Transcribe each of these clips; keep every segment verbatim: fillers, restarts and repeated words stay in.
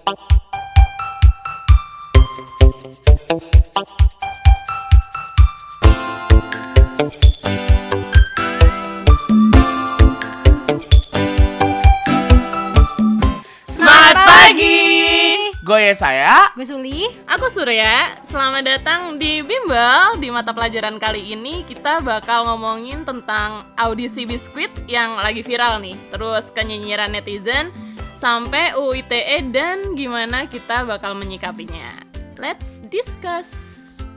Gue Yesaya. Gue Suli. Aku Surya. Selamat datang di Bimbel. Di mata pelajaran kali ini kita bakal ngomongin tentang audisi biskuit yang lagi viral nih. Terus kenyinyiran netizen sampai U U I T E dan gimana kita bakal menyikapinya. Let's discuss.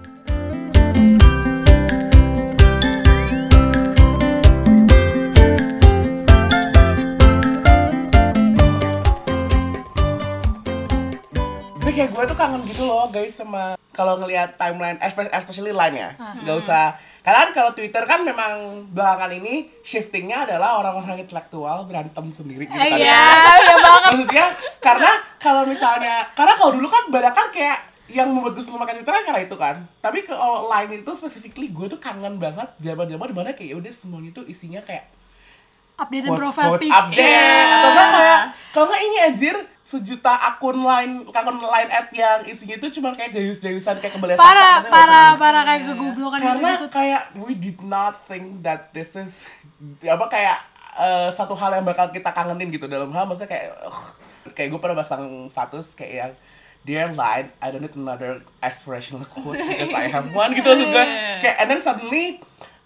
Kayak gue tuh kangen gitu loh guys sama kalau ngelihat timeline, especially line ya. Hmm. Gak usah, karena kan kalau Twitter kan memang belakangan ini shiftingnya adalah orang-orang intelektual berantem sendiri gitu kan. Iya, iya banget. Maksudnya karena kalau misalnya, karena kalau dulu kan banyak kan kayak yang membuat gue selalu makan Twitter kan karena itu kan. Tapi kalau line itu specifically gue tuh kangen banget zaman-zaman dimana kayak udah semuanya tuh isinya kayak update quotes, profile quotes, picture update atau enggak kayak kalau enggak ini anjir sejuta akun line akun line ad yang isinya itu cuma kayak jayus-jayusan kayak kebeli sasa para para para kayak kegoblokan gitu karena gitu. kayak we did not think that this is apa kayak uh, satu hal yang bakal kita kangenin gitu dalam hal maksudnya kayak uh, kayak gue pernah pasang status kayak yang dear line I don't need another aspirational quote because I have one gitu maksud gue kayak and then suddenly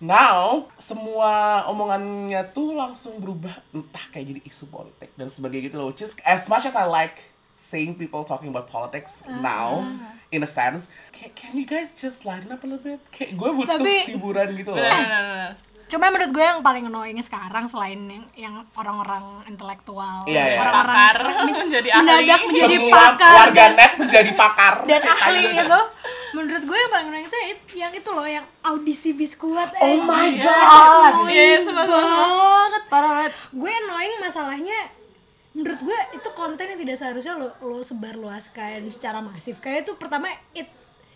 now, semua omongannya tuh langsung berubah entah kayak jadi isu politik dan sebagainya gitu loh. Which is as much as I like seeing people talking about politics uh, now, in a sense, can, can you guys just lighten up a little bit? Kayak gue butuh Tapi, hiburan gitu loh. Cuma menurut gue yang paling annoying sekarang selain yang, yang orang-orang intelektual, iya, iya. orang-orang pakar menjadi ahli, mendadak menjadi semua pakar, warganet menjadi pakar dan ahli itu. Menurut gue yang paling annoying itu yang itu loh, yang audisi biskuit. Oh eh, my ya, god, annoying yes, banget, parah banget. Gue annoying masalahnya. Menurut gue itu konten yang tidak seharusnya lo lo sebarluaskan secara masif. Karena itu pertama it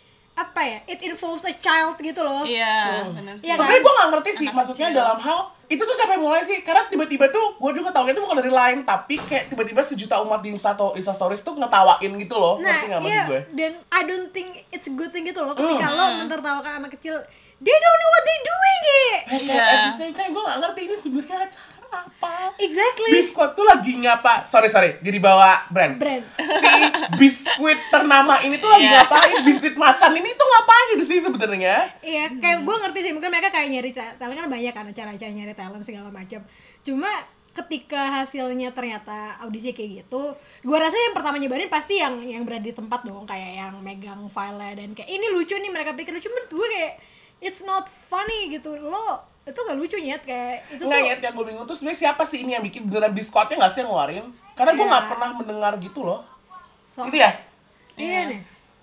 apa ya, it involves a child gitu loh. Iya, hmm. benar sih. Ya, sebenarnya gue gak ngerti sih, Anak maksudnya kecil. dalam hal itu tuh siapa yang mulai sih? Karena tiba-tiba tuh gue juga taunya itu bukan dari Line, tapi kayak tiba-tiba sejuta umat di Insta, Insta Stories tuh ngetawain gitu loh. Nah, ngerti gak maksud iya, gue? dan I don't think it's a good thing gitu loh ketika Mm. lo mentertawakan anak kecil, they don't know what they doing it. Kayak Iya. at the same time gue gak ngerti ini sebenarnya acara apa. Exactly. Biskuit tuh lagi ngapa? Sorry sorry, jadi bawa brand. Brand. Si biskuit ternama ini tuh lagi Iya. ngapain? Biskuit macan ini tuh ngapain gitu sih sebenarnya? Iya, kayak gue ngerti sih, mungkin mereka kayak nyari talent, kan banyak kan acara-acara nyari talent segala macam. Cuma ketika hasilnya ternyata audisi kayak gitu, gue rasa yang pertama nyebarin pasti yang yang berada di tempat dong, kayak yang megang file dan kayak ini lucu nih, mereka pikir lucu. Menurut gue kayak it's not funny gitu. Lo itu gak lucu nyet, kayak itu Nggak tuh nyet, yang gue bingung tuh sebenarnya siapa sih ini yang bikin beneran biskuitnya nggak sih yang ngeluarin? Karena gue Iya. nggak pernah mendengar gitu loh. so, Gitu ya? iya nih.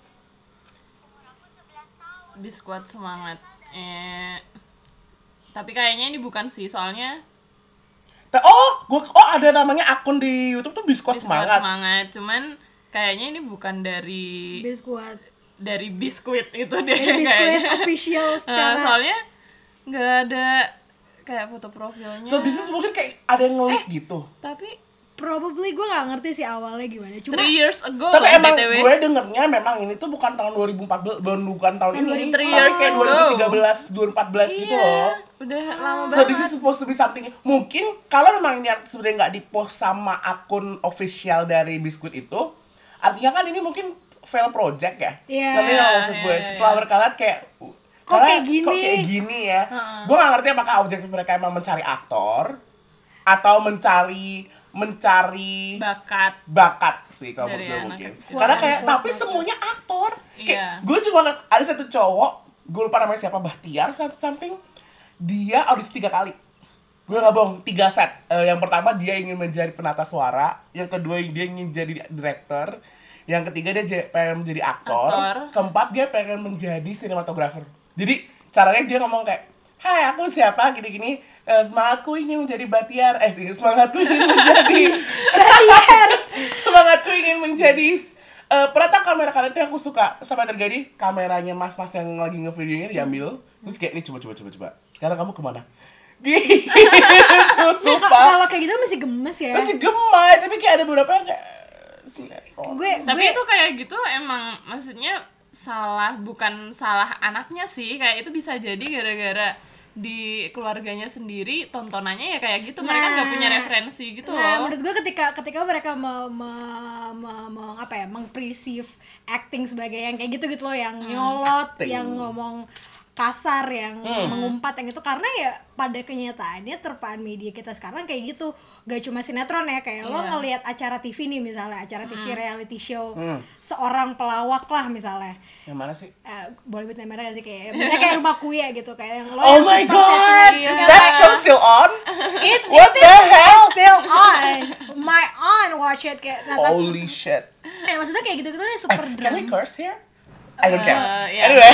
Biskuit semangat. Eh tapi kayaknya ini bukan sih, soalnya Ta- Oh, gua oh ada namanya akun di YouTube tuh biskuit biskuit semangat. semangat. Cuman kayaknya ini bukan dari Biskuit dari biskuit itu deh. biskuit kayaknya. official Nah, secara soalnya nggak ada kayak foto profilnya. So this is mungkin kayak ada yang nge-leak gitu. Tapi probably gue gak ngerti sih awalnya gimana, cuma three years ago Tapi loh, emang B T W. gue dengernya memang ini tuh bukan tahun dua ribu empat belas, bukan tahun Kan ini. three Tapi years kayak ago. dua ribu tiga belas, dua ribu empat belas gitu Iya, loh. udah lama So banget. this is supposed to be something. Mungkin kalau memang ini sebenarnya nggak di-post sama akun official dari biskuit itu, artinya kan ini mungkin fail project ya. Iya. Tapi nggak maksud gue. Iya, iya, Setelah iya. berkala kayak Kok karena kayak gini? Kok kayak gini ya. Gue nggak ngerti apakah objektif mereka emang mencari aktor atau mencari mencari bakat. bakat sih kalau Dari menurut gue anak mungkin. kecil. Karena Kuat, kayak kuat, tapi kuat. semuanya aktor. Iya. Kayak gue cuma ada satu cowok, gue lupa namanya siapa, Bahtiar something. Dia audisi tiga kali. Gue gak bohong, tiga set. Uh, yang pertama dia ingin menjadi penata suara, yang kedua dia ingin jadi director, yang ketiga dia j- pengen menjadi aktor, Aktor. keempat dia pengen menjadi sinematografer. Jadi caranya dia ngomong kayak, hai aku siapa gini-gini, uh, semangatku ingin menjadi Bahtiar, eh semangatku ingin menjadi Bahtiar. semangatku ingin menjadi uh, penata kamera. Karena itu yang aku suka. Sampai terjadi kameranya mas-mas yang lagi nge-videonya diambil, terus kayak ini coba coba coba coba. Sekarang kamu kemana? Gitu. Nah, Sumpah. kalau kayak gitu masih gemes ya. Masih gemes, tapi kayak ada beberapa yang kayak sinetron. gue Tapi gue itu kayak gitu emang maksudnya salah, bukan salah anaknya sih, kayak itu bisa jadi gara-gara di keluarganya sendiri tontonannya ya kayak gitu, mereka nggak Nah. punya referensi gitu Nah, loh. menurut gue ketika ketika mereka me, me, me, me- apa ya, meng-perceive acting sebagai yang kayak gitu gitu loh, yang nyolot, Acting. yang ngomong kasar, yang Hmm. mengumpat, yang itu karena ya pada kenyataannya terpaan media kita sekarang kayak gitu, gak cuma sinetron ya, kayak lo Iya. ngelihat acara T V nih misalnya, acara T V Hmm. reality show Hmm. seorang pelawak lah misalnya. Yang mana sih? Eh, boleh buat mereka gak sih, kayak misalnya kayak Rumah Kuya gitu, kayak yang lo Oh yang my super god, settingan, is yang that kayak- show still on? It, What it the is hell? still on. My aunt watch it kayak nah, tapi- Holy shit. eh, maksudnya kayak gitu-gitu deh Eh, super can we drama. curse here? I don't care. Uh, yeah. Anyway.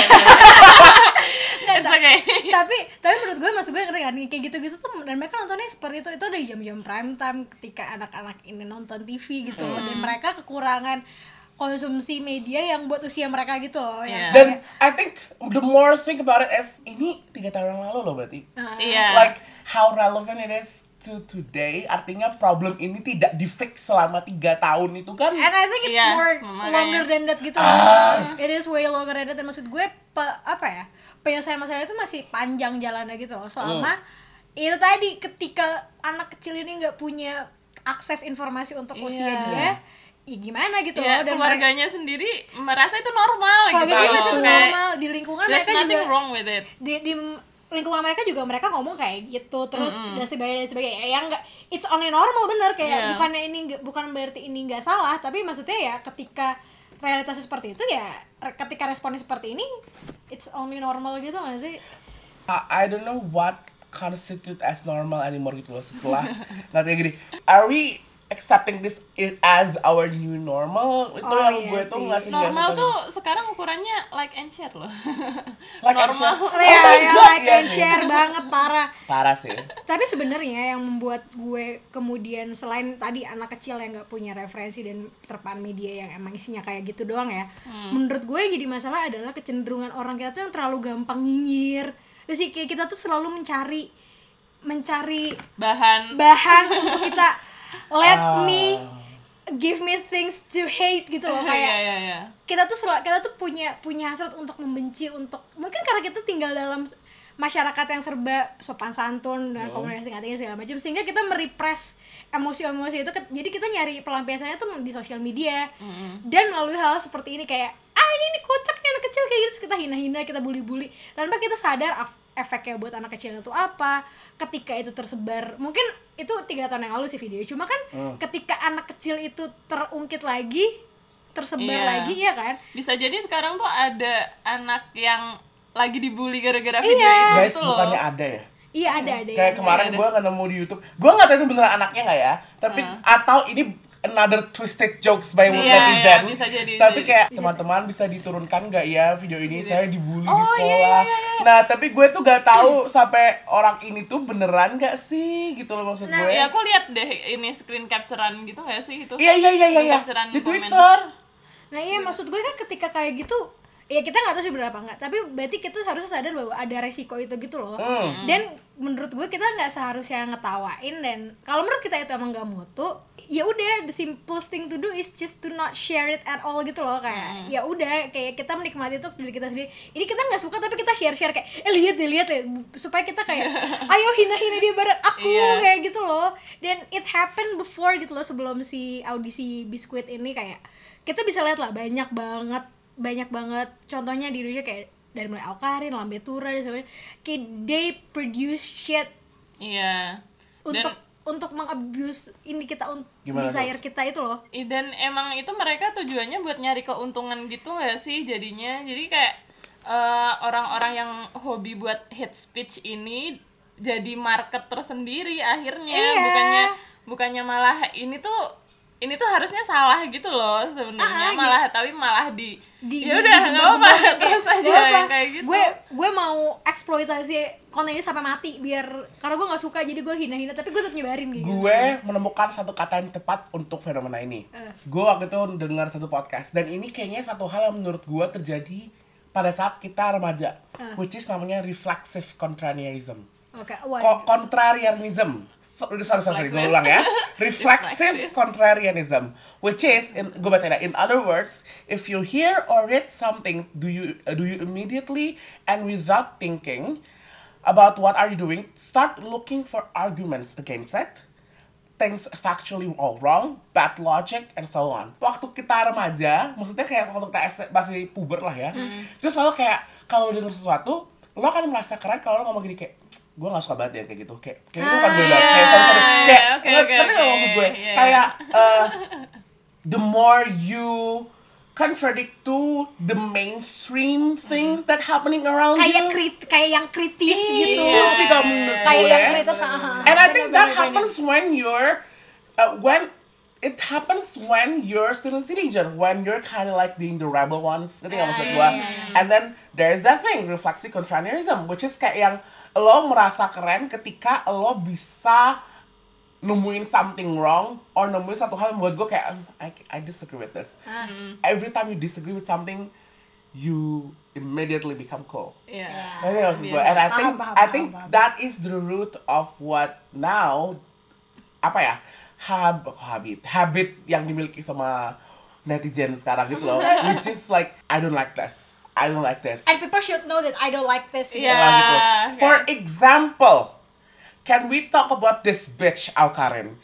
It's okay. tapi tapi menurut gue, maksud gue ngerti kan, kayak gitu-gitu tuh, dan mereka nontonnya seperti itu itu ada di jam-jam prime time ketika anak-anak ini nonton T V gitu loh, dan mereka kekurangan konsumsi media yang buat usia mereka gitu loh, yang Iya. Dan kayak, I think the more think about it as ini tiga tahun yang lalu loh berarti. uh, Iya. Like how relevant it is to today. Artinya problem ini tidak di fix selama tiga tahun itu kan. and I think it's Iya, more makanya. longer than that gitu loh. It is way longer than that, dan maksud gue pe- apa ya, penyelesaian masalah itu masih panjang jalannya gitu loh, selama itu tadi ketika anak kecil ini nggak punya akses informasi untuk usia Iya. dia, ya gimana gitu Ya, loh, dan mereka keluarganya sendiri merasa itu normal keluarga gitu. sih masih itu Kayak, normal, di lingkungan there's mereka nothing juga wrong with it. di, di lingkungan mereka juga mereka ngomong kayak gitu terus dan sebagainya dan sebagainya, ya enggak, it's only normal, bener, kayak Iya. bukannya ini nggak- bukan berarti ini nggak salah, tapi maksudnya ya ketika realitasnya seperti itu, ya re- ketika responnya seperti ini, it's only normal gitu nggak sih? I, I don't know what constitute as normal anymore gitu loh setelah nggak kayak gini. Are we accepting this i- as our new normal? Itu Oh, yang iya gue tuh sih. nggak sih Normal nggak tuh sekarang ukurannya like and share loh. Like and normal. share. Ya, my ya God, like iya and sih. share banget, parah. Parah sih. Tapi sebenarnya yang membuat gue kemudian, selain tadi anak kecil yang nggak punya referensi dan terpaan media yang emang isinya kayak gitu doang ya, menurut gue yang jadi masalah adalah kecenderungan orang kita tuh yang terlalu gampang nyinyir. Terus sih kayak kita tuh selalu mencari mencari Bahan. bahan untuk kita let Ah. me give me things to hate gitu loh, Iya, kayak iya, iya. kita tuh sel- kita tuh punya punya hasrat untuk membenci, untuk mungkin karena kita tinggal dalam s- masyarakat yang serba sopan santun dan komunikasi nggak tinggi segala macam, sehingga kita merepress emosi-emosi itu, ke- jadi kita nyari pelampiasannya tuh di sosial media dan melalui hal seperti ini, kayak ah ini kocak nih anak kecil kayak gitu, terus kita hina-hina, kita bully-bully tanpa kita sadar af- efeknya buat anak kecil itu apa ketika itu tersebar. Mungkin itu tiga tahun yang lalu sih video, cuma kan ketika anak kecil itu terungkit lagi, tersebar Iya. lagi, ya kan. Bisa jadi sekarang tuh ada anak yang lagi dibully gara-gara video Iya. itu Guys, gitu loh. bukannya ada ya? Iya, ada ada Kayak ya. kemarin ada. gue nggak nemu di YouTube. Gue nggak tahu itu beneran anaknya nggak ya. Tapi atau ini another twisted jokes by Iya, netizen. iya, bisa jadi, Tapi bisa kayak jadi. teman-teman bisa diturunkan nggak ya video ini? Saya dibully di Oh, iya, sekolah. iya, iya. Nah, tapi gue tuh nggak tahu sampai orang ini tuh beneran nggak sih gitu loh maksud Nah, gue. Ya aku lihat deh ini screen capturean gitu nggak sih itu? Iya iya iya iya. iya. Capturean Di momen. Twitter. Nah iya, maksud gue kan ketika kayak gitu, ya kita nggak tahu sih bener apa nggak, tapi berarti kita harusnya sadar bahwa ada resiko itu gitu loh. Hmm. Dan menurut gue kita nggak seharusnya ngetawain, dan kalau menurut kita itu emang gak mutu, ya udah, the simplest thing to do is just to not share it at all gitu loh, kayak ya udah, kayak kita menikmati itu diri kita sendiri. Ini kita nggak suka tapi kita share share kayak eh lihat deh lihat deh, supaya kita kayak ayo hina hina dia bareng aku, Iya. kayak gitu loh. Dan it happened before gitu loh, sebelum si audisi Biskuit ini, kayak kita bisa lihat lah banyak banget banyak banget contohnya di Indonesia, kayak dari mulai Awkarin, Lambe Tura dan sebagainya, kayak they produce shit Iya. untuk Dan untuk mengabuse ini kita, untuk Gimana desire kita itu loh. i- dan emang itu mereka tujuannya buat nyari keuntungan gitu nggak sih jadinya? Jadi kayak eh, orang-orang yang hobi buat hate speech ini jadi market tersendiri akhirnya. Iya. Bukannya bukannya malah ini tuh ini tuh harusnya salah gitu loh sebenarnya, Ah, ah, malah tapi malah di, Di- ya di- udah di- nggak apa-apa di- terus Gak aja apa. yang kayak gitu. Gue gue mau eksploitasi konten ini sampai mati, biar karena gue nggak suka jadi gue hina-hina, tapi gue tetap nyebarin gitu. Gue menemukan satu kata yang tepat untuk fenomena ini. Eh. Gue waktu itu dengar satu podcast, dan ini kayaknya satu hal yang menurut gue terjadi pada saat kita remaja, Eh. which is namanya reflexive contrarianism. Oke, Ko- waduh. contrarianism. So- sorry sorry sorry gue ulang ya. Reflexive contrarianism, which is in, gue baca ya, in other words, if you hear or read something, do you uh, do you immediately and without thinking about what are you doing, start looking for arguments against it, things factually all wrong, bad logic, and so on. Waktu kita remaja, maksudnya kayak waktu kita S- masih puber lah ya, Mm. terus selalu kayak kalau denger sesuatu, lo kan merasa keren kalau lo ngomong gini kayak, gue gak suka banget ya kayak gitu, kayak kayak itu kan gue Ah, banget, kayak iya, sorry sorry, iya, kayak oke, ngerti oke, nggak oke, maksud gue, iya. kayak uh, the more you contradict to the mainstream things that happening around Kayak you, krit kayak yang kritis gitu. itu sih kalau menurut Kayak gue. yang kritis. ah, ah, And I bener, think bener, that bener. happens when you're, uh, when it happens when you're still a teenager, when you're kind of like being the rebel ones, ngerti nggak maksud gue? And then there's that thing, reflexive contrarianism, which is kayak yang lo merasa keren ketika lo bisa nemuin something wrong or nemuin satu hal yang buat gue kayak I, I disagree with this. Every time you disagree with something, you immediately become cool. Iya. Ngerti nggak maksud gue? And I think Paham, paham, I paham, think paham. that is the root of what now apa ya hab habit habit yang dimiliki sama netizen sekarang gitu loh, which is like I don't like this, I don't like this. And people should know that I don't like this. Iya. Lah gitu. okay. For example, can we talk about this bitch Aukarin?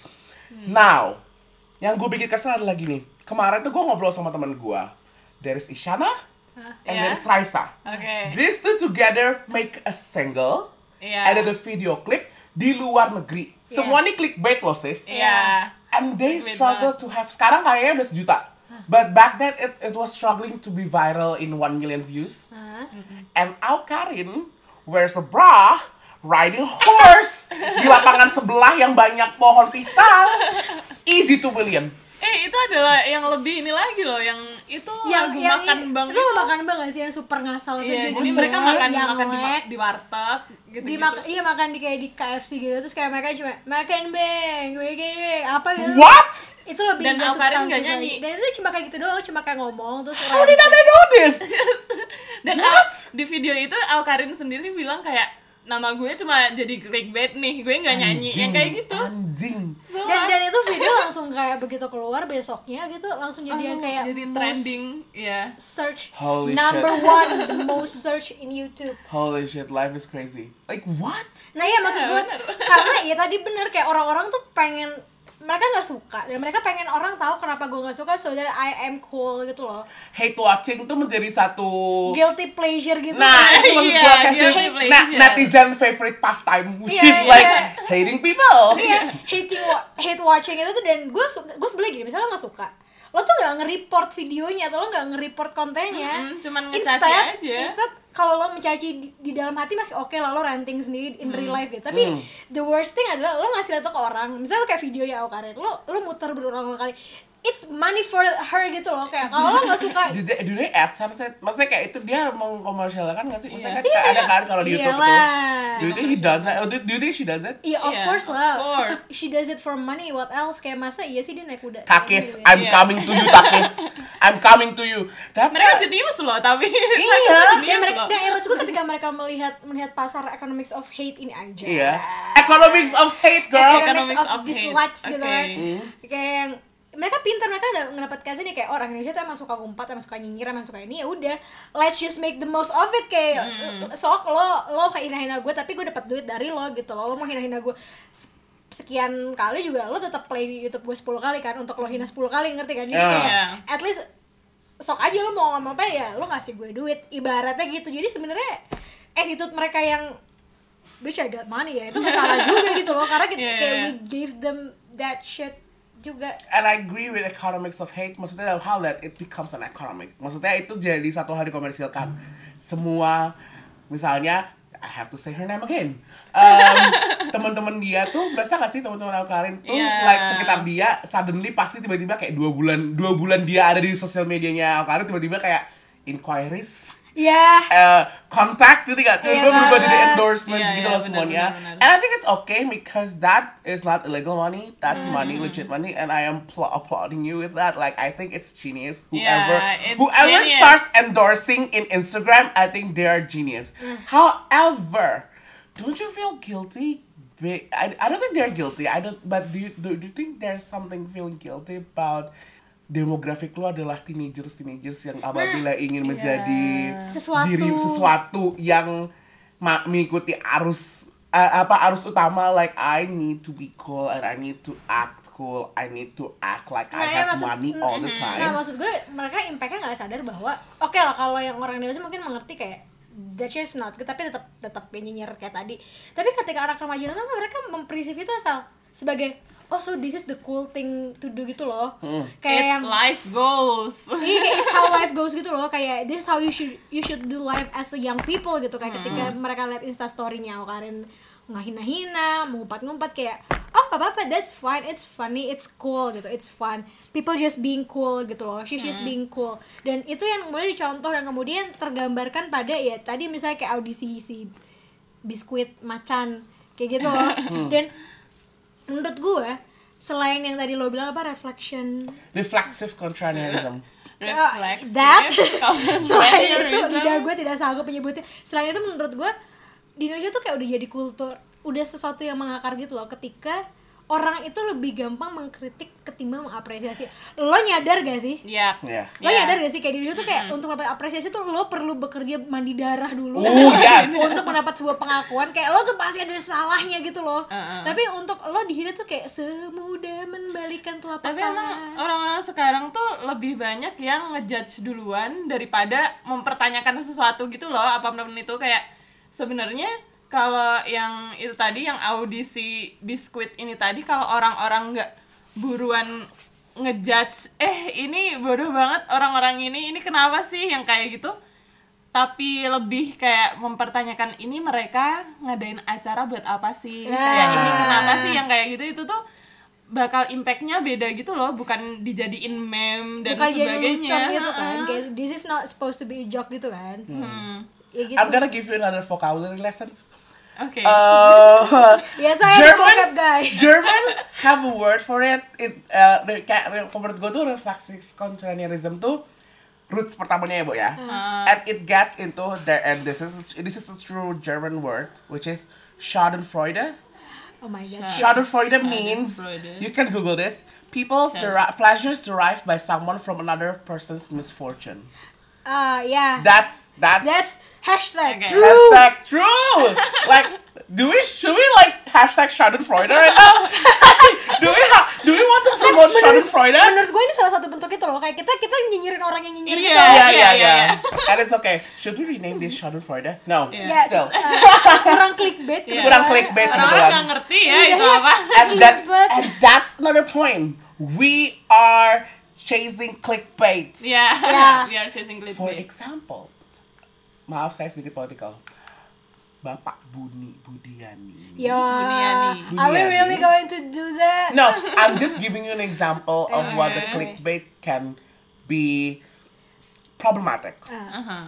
Now, yang gue bikin kesel adalah gini. Kemarin tuh gue ngobrol sama teman gue. There is Isyana and there Yeah. is Raisa. Oke. These two together make a single. Iya. Ada the video clip di luar negeri. Semua nih clickbait loh sis. Iya. And they Clickbait struggle to have, sekarang kayaknya udah sejuta. But back then it, it was struggling to be viral in one million views. Hah? And Aukarin wears a bra, riding horse di lapangan sebelah yang banyak pohon pisang. Easy two million. Eh itu adalah yang lebih ini lagi loh, yang itu Yang lagu yang makan bang itu makan bang gak sih yang super ngasal itu Iya, jadi jadi mereka yang makan yang makan di, lek. di warteg gitu di gitu. mak- iya makan di kayak di K F C gitu terus kayak mereka cuma makan bang makan bang apa gitu What? itu lebih Dan nggak Aukarin substansi nggak lagi. nyanyi. Dan itu cuma kayak gitu doang cuma kayak ngomong terus How did I know this? Dan What? Au- di video itu Aukarin sendiri bilang kayak nama gue cuma jadi clickbait nih, gue nggak nyanyi yang kayak gitu. Anjing. dan dan itu video langsung kayak begitu keluar besoknya gitu langsung jadi yang kayak jadi most trending, ya. search Holy number shit. one the most search in YouTube. Holy shit, life is crazy. Like what? Nah iya maksud Iya, gue bener. karena ya tadi bener kayak orang-orang tuh pengen mereka nggak suka dan mereka pengen orang tahu kenapa gue nggak suka so that I am cool gitu loh, Hate watching tuh menjadi satu guilty pleasure gitu. Nah, itu maksud Iya, gua kayak guilty sih, pleasure. na- netizen favorite pastime, which Iya, is iya. like hating people. Iya, hating wa- hate watching itu tuh dan gue su- gue sebelah gini misalnya lo nggak suka lo tuh nggak nge-report videonya atau lo nggak nge-report kontennya. Mm-mm, cuman ngecaci instead, aja. Instead kalau lo mencaci di, di dalam hati masih oke lah lo ranting sendiri in real life gitu. Tapi Hmm. the worst thing adalah lo ngasih liat tuh ke orang. Misalnya kayak video ya Aukarin, lo lo muter berulang-ulang kali. It's money for her gitu loh kayak kalau lo nggak suka. Do they, do they AdSense it? Maksudnya kayak itu dia mengkomersialkan nggak sih? Maksudnya Iya. kan kayak ada kan kalau di YouTube itu. Iyalah. Do you think he does that? Oh, do, do you think she does it? Iya of Iya, course of lah. course. She does it for money. What else? Kayak masa iya sih dia naik kuda. Takis, Gitu ya. I'm Iya. coming to you, Takis. I'm coming to you. Tapi Mereka jenius loh tapi. Iya. Ya mereka, dan ya maksudku ketika mereka melihat melihat pasar economics of hate ini aja. Iya. Economics of hate, girl. Economics, Economics of, of hate. dislikes gitu Oke. kan. Hmm. Kayak yang mereka pintar, mereka udah ngedapat kasih nih kayak orang Indonesia tuh emang suka ngumpat, emang suka nyinyir, emang suka ini ya udah let's just make the most of it kayak sok lo lo kayak hina-hina gue tapi gue dapat duit dari lo gitu lo lo mau hina-hina gue s- sekian kali juga lo tetap play di YouTube gue sepuluh kali kan untuk lo hina sepuluh kali ngerti kan jadi Yeah. kayak Yeah. at least sok aja lo mau ngomong apa ya lo ngasih gue duit ibaratnya gitu jadi sebenarnya attitude mereka yang bitch I got money ya itu nggak salah juga gitu loh karena kita Yeah. kayak we gave them that shit juga. And I agree with economics of hate. Maksudnya dalam hal that it becomes an economic. Maksudnya itu jadi satu hal dikomersilkan. Semua, misalnya, I have to say her name again. Um, teman-teman dia tuh, berasa gak sih teman-teman Aukarin tuh, Yeah. like sekitar dia, suddenly pasti tiba-tiba kayak dua bulan, dua bulan dia ada di sosial medianya Aukarin tiba-tiba kayak inquiries. Ya. Uh, contact gitu kan, Iya, tiba-tiba berubah jadi Bang. endorsements Iya, gitu iya, loh benar, semuanya. benar, benar. And I think it's okay because that is not illegal money, that's Mm-hmm. money, legit money, and I am pl- applauding you with that. Like I think it's genius. Whoever Yeah, it's whoever genius. starts endorsing in Instagram, I think they are genius. Mm. However, don't you feel guilty big. I, I don't think they're guilty. I don't. But do you, do, do you think there's something feeling guilty about demografik lo adalah teenagers teenagers yang apabila ingin menjadi Sesuatu. diri sesuatu yang ma- mengikuti arus uh, apa arus utama, like I need to be cool and I need to act cool, I need to act like I Nah, ya, have maksud- money all the Nah time. maksud gue mereka impact-nya nggak sadar bahwa oke lah kalau yang orang dewasa mungkin mengerti kayak that's just not good, tapi tetap tetap nyinyir kayak tadi. Tapi ketika anak remaja nonton mereka mempersif itu asal sebagai oh so this is the cool thing to do gitu loh. Kayak It's yang life goals. iya kayak it's how life goes gitu loh, kayak this is how you should you should do life as a young people gitu. Kayak ketika mereka lihat instastory-nya Karin ngahina-hina, ngumpat-ngumpat kayak oh gak apa-apa, that's fine, it's funny, it's cool gitu, it's fun, people just being cool gitu loh, she's just being cool. Dan itu yang kemudian dicontoh dan kemudian tergambarkan pada ya tadi misalnya kayak audisi si Biskuit Macan kayak gitu loh. Dan menurut gue selain yang tadi lo bilang apa reflection Reflexive contrarianism. Reflexive. that selain itu Contrarianism. lidah gue tidak sanggup menyebutnya. Selain itu menurut gue di Indonesia tuh kayak udah jadi kultur, udah sesuatu yang mengakar gitu loh, ketika orang itu lebih gampang mengkritik ketimbang mengapresiasi. Lo nyadar gak sih? Yap. Yeah. Lo Yeah. nyadar gak sih kayak di Indonesia tuh kayak untuk dapat apresiasi tuh lo perlu bekerja mandi darah dulu Oh, yes. untuk mendapat sebuah pengakuan. Kayak lo tuh pasti ada salahnya gitu loh. Uh-uh. Tapi untuk lo dihina tuh kayak semudah membalikan telapak Tapi emang tangan. orang-orang sekarang tuh lebih banyak yang ngejudge duluan daripada mempertanyakan sesuatu gitu loh, apapun itu. Kayak sebenarnya kalau yang itu tadi yang audisi Biskuit ini tadi, kalau orang-orang nggak buruan ngejudge eh ini bodoh banget orang-orang ini, ini kenapa sih yang kayak gitu, tapi lebih kayak mempertanyakan ini mereka ngadain acara buat apa sih, Ya. kayak ini kenapa sih yang kayak gitu, itu tuh bakal impactnya beda gitu loh, bukan dijadiin meme dan Bukan jadi sebagainya. lucu gitu kan, Ha-ha. kayak this is not supposed to be a joke gitu kan. Ya gitu. I'm gonna give you another vocabulary lessons. Oke. Uh, Ya saya ada vocab guy. Germans have a word for it. It uh, re- kayak re- menurut gue tuh reflexive contrarianism tuh roots pertamanya ya, Bu ya. And it gets into the, and this is this is a true German word, which is Schadenfreude. Oh my god. Schadenfreude means, Schadenfreude. you can Google this, people's deri- pleasures derived by someone from another person's misfortune. Ah ya. That's that's, That's hashtag Okay. true. hashtag true. Like, do we should we like hashtag Schadenfreude right now? do we ha- do we want to promote Schadenfreude? Menurut gue ini salah satu bentuk itu loh, kayak kita kita nyinyirin orang yang Iya. nyinyirin gitu. Yeah, Iya, yeah, iya, yeah. And it's okay. Should we rename this Schadenfreude? No. Yeah. Ya, Still. sus- uh, kurang clickbait Iya. Kurang clickbait, Orang kebetulan. nggak ngerti ya Iya, itu iya. apa. And that Sleepet. and that's another point. We are chasing clickbait. Ya. Yeah. We are chasing For clickbait. example, maaf saya sedikit politikal. Bapak Buni Budiani. Ya. Buniani. Are we Buniani. really going to do that? No, I'm just giving you an example of what the Okay. clickbait can be problematic. Uh-huh.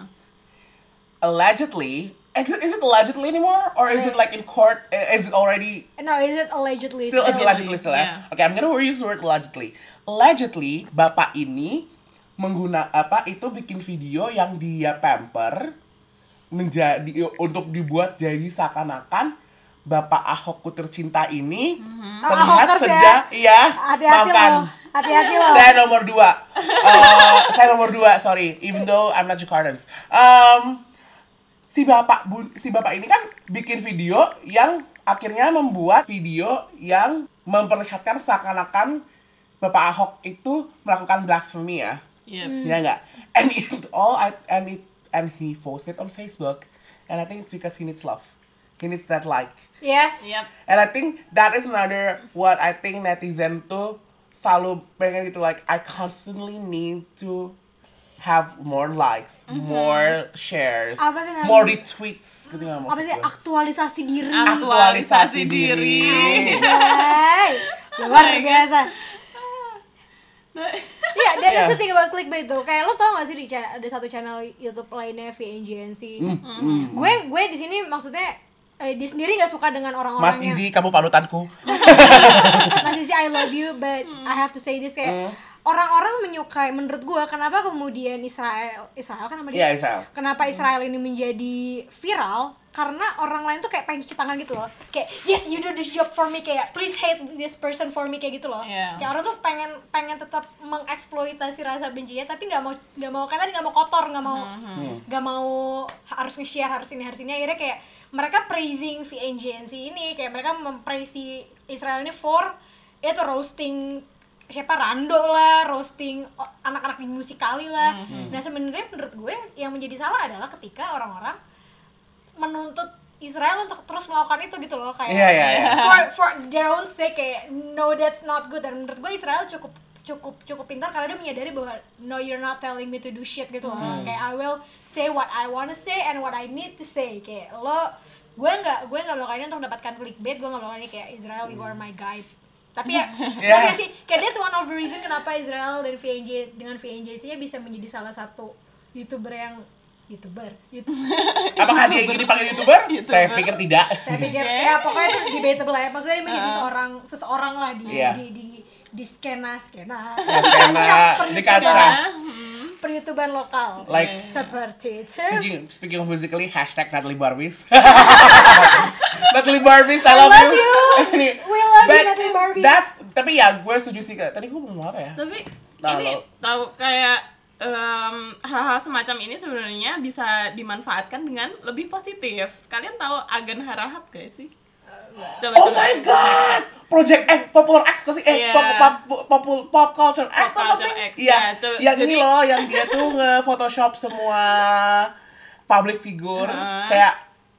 Allegedly, is it, is it allegedly anymore, or is it like in court? uh, Is it already No, is it allegedly? still? It's still? allegedly still. Yeah. Ya? Okay, I'm gonna use the word allegedly. Allegedly, bapak ini mengguna apa itu bikin video yang dia pamper menjadi untuk dibuat jadi seakan-akan bapak Ahokku tercinta ini terlihat Ahokers ya. sedang iya Hati-hati makan. loh. Hati-hati loh. Saya nomor dua. Eh, saya nomor dua, sorry. Even though I'm not Jakartans. Um, si bapak bun, si bapak ini kan bikin video yang akhirnya membuat video yang memperlihatkan seakan-akan bapak Ahok itu melakukan blasphemy ya. Yep. Ya enggak? And it all I, and it and he posted on Facebook. And I think it's because he needs love. He needs that like. Yes. Yep. And I think that is another what I think netizen tuh selalu pengen gitu, like I constantly need to have more likes, more shares, Apa sih namanya? more retweets gitu nggak Apa maksud sih gue. aktualisasi diri? Aktualisasi diri. Anjay. Luar biasa. Iya, dan Yeah. that's the thing about clickbait tuh. Kayak lo tau gak sih di cha- ada satu channel YouTube lainnya V N G N C. Hmm, Gue gue di sini maksudnya eh, dia sendiri nggak suka dengan orang-orang Mas yang Izzy, kamu panutanku. Mas Izzy I love you but I have to say this kayak orang-orang menyukai, menurut gue kenapa kemudian Israel Israel kan nama dia? Iya, Israel. Kenapa Israel ini menjadi viral? Karena orang lain tuh kayak pengen cuci tangan gitu loh. Kayak yes you do this job for me, kayak please hate this person for me, kayak gitu loh. Yeah. Kayak orang tuh pengen pengen tetap mengeksploitasi rasa bencinya, tapi nggak mau nggak mau kan tadi nggak mau kotor, nggak mau nggak mm-hmm. mau harus nge-share, harus ini harus ini. Akhirnya kayak mereka praising V N G N C ini, kayak mereka mempraise si Israel ini for ya tuh roasting siapa Rando lah, roasting anak-anak di musikali lah. Mm-hmm. Nah sebenarnya menurut gue yang menjadi salah adalah ketika orang-orang menuntut Israel untuk terus melakukan itu gitu loh, kayak yeah, yeah, yeah. for for their own sake, kayak no that's not good. Dan menurut gue Israel cukup cukup cukup pintar karena dia menyadari bahwa no you're not telling me to do shit gitu loh. Mm. Kayak I will say what I wanna say and what I need to say. Kayak lo gue nggak gue nggak melakukan ini untuk mendapatkan clickbait, gue nggak melakukan ini kayak Israel you are my guide. Tapi ya, yeah. sih, kayak that's one of the reason kenapa Israel dan V N J dengan V N J C-nya bisa menjadi salah satu YouTuber yang YouTuber. YouTuber. Apakah dia ingin dipanggil YouTuber? YouTuber? Saya pikir tidak. Saya pikir ya pokoknya itu debatable ya. Maksudnya dia menjadi uh. seorang seseorang lah di yeah. di di di skena skena. Ya, skena di kaca. Per-YouTuber lokal, like seperti itu. Speaking, speaking of musically, hashtag Natalie Barbies. Natalie Barbies, I love, I love you. you. We love But you, Natalie Barbies. That's, tapi ya, gue setuju sih kak. Tadi gue ngomong apa ya? Tapi nah, ini lo. tahu kayak um, hal-hal semacam ini sebenarnya bisa dimanfaatkan dengan lebih positif. Kalian tahu Agan Harahap gak sih? Coba, oh coba. my god, Project X, Popular X pasti eh yeah. pop, pop, pop, pop culture X Pop atau culture something. X, Iya, yeah, yang jadi, ini loh, yang dia tuh nge-photoshop semua public figure uh. kayak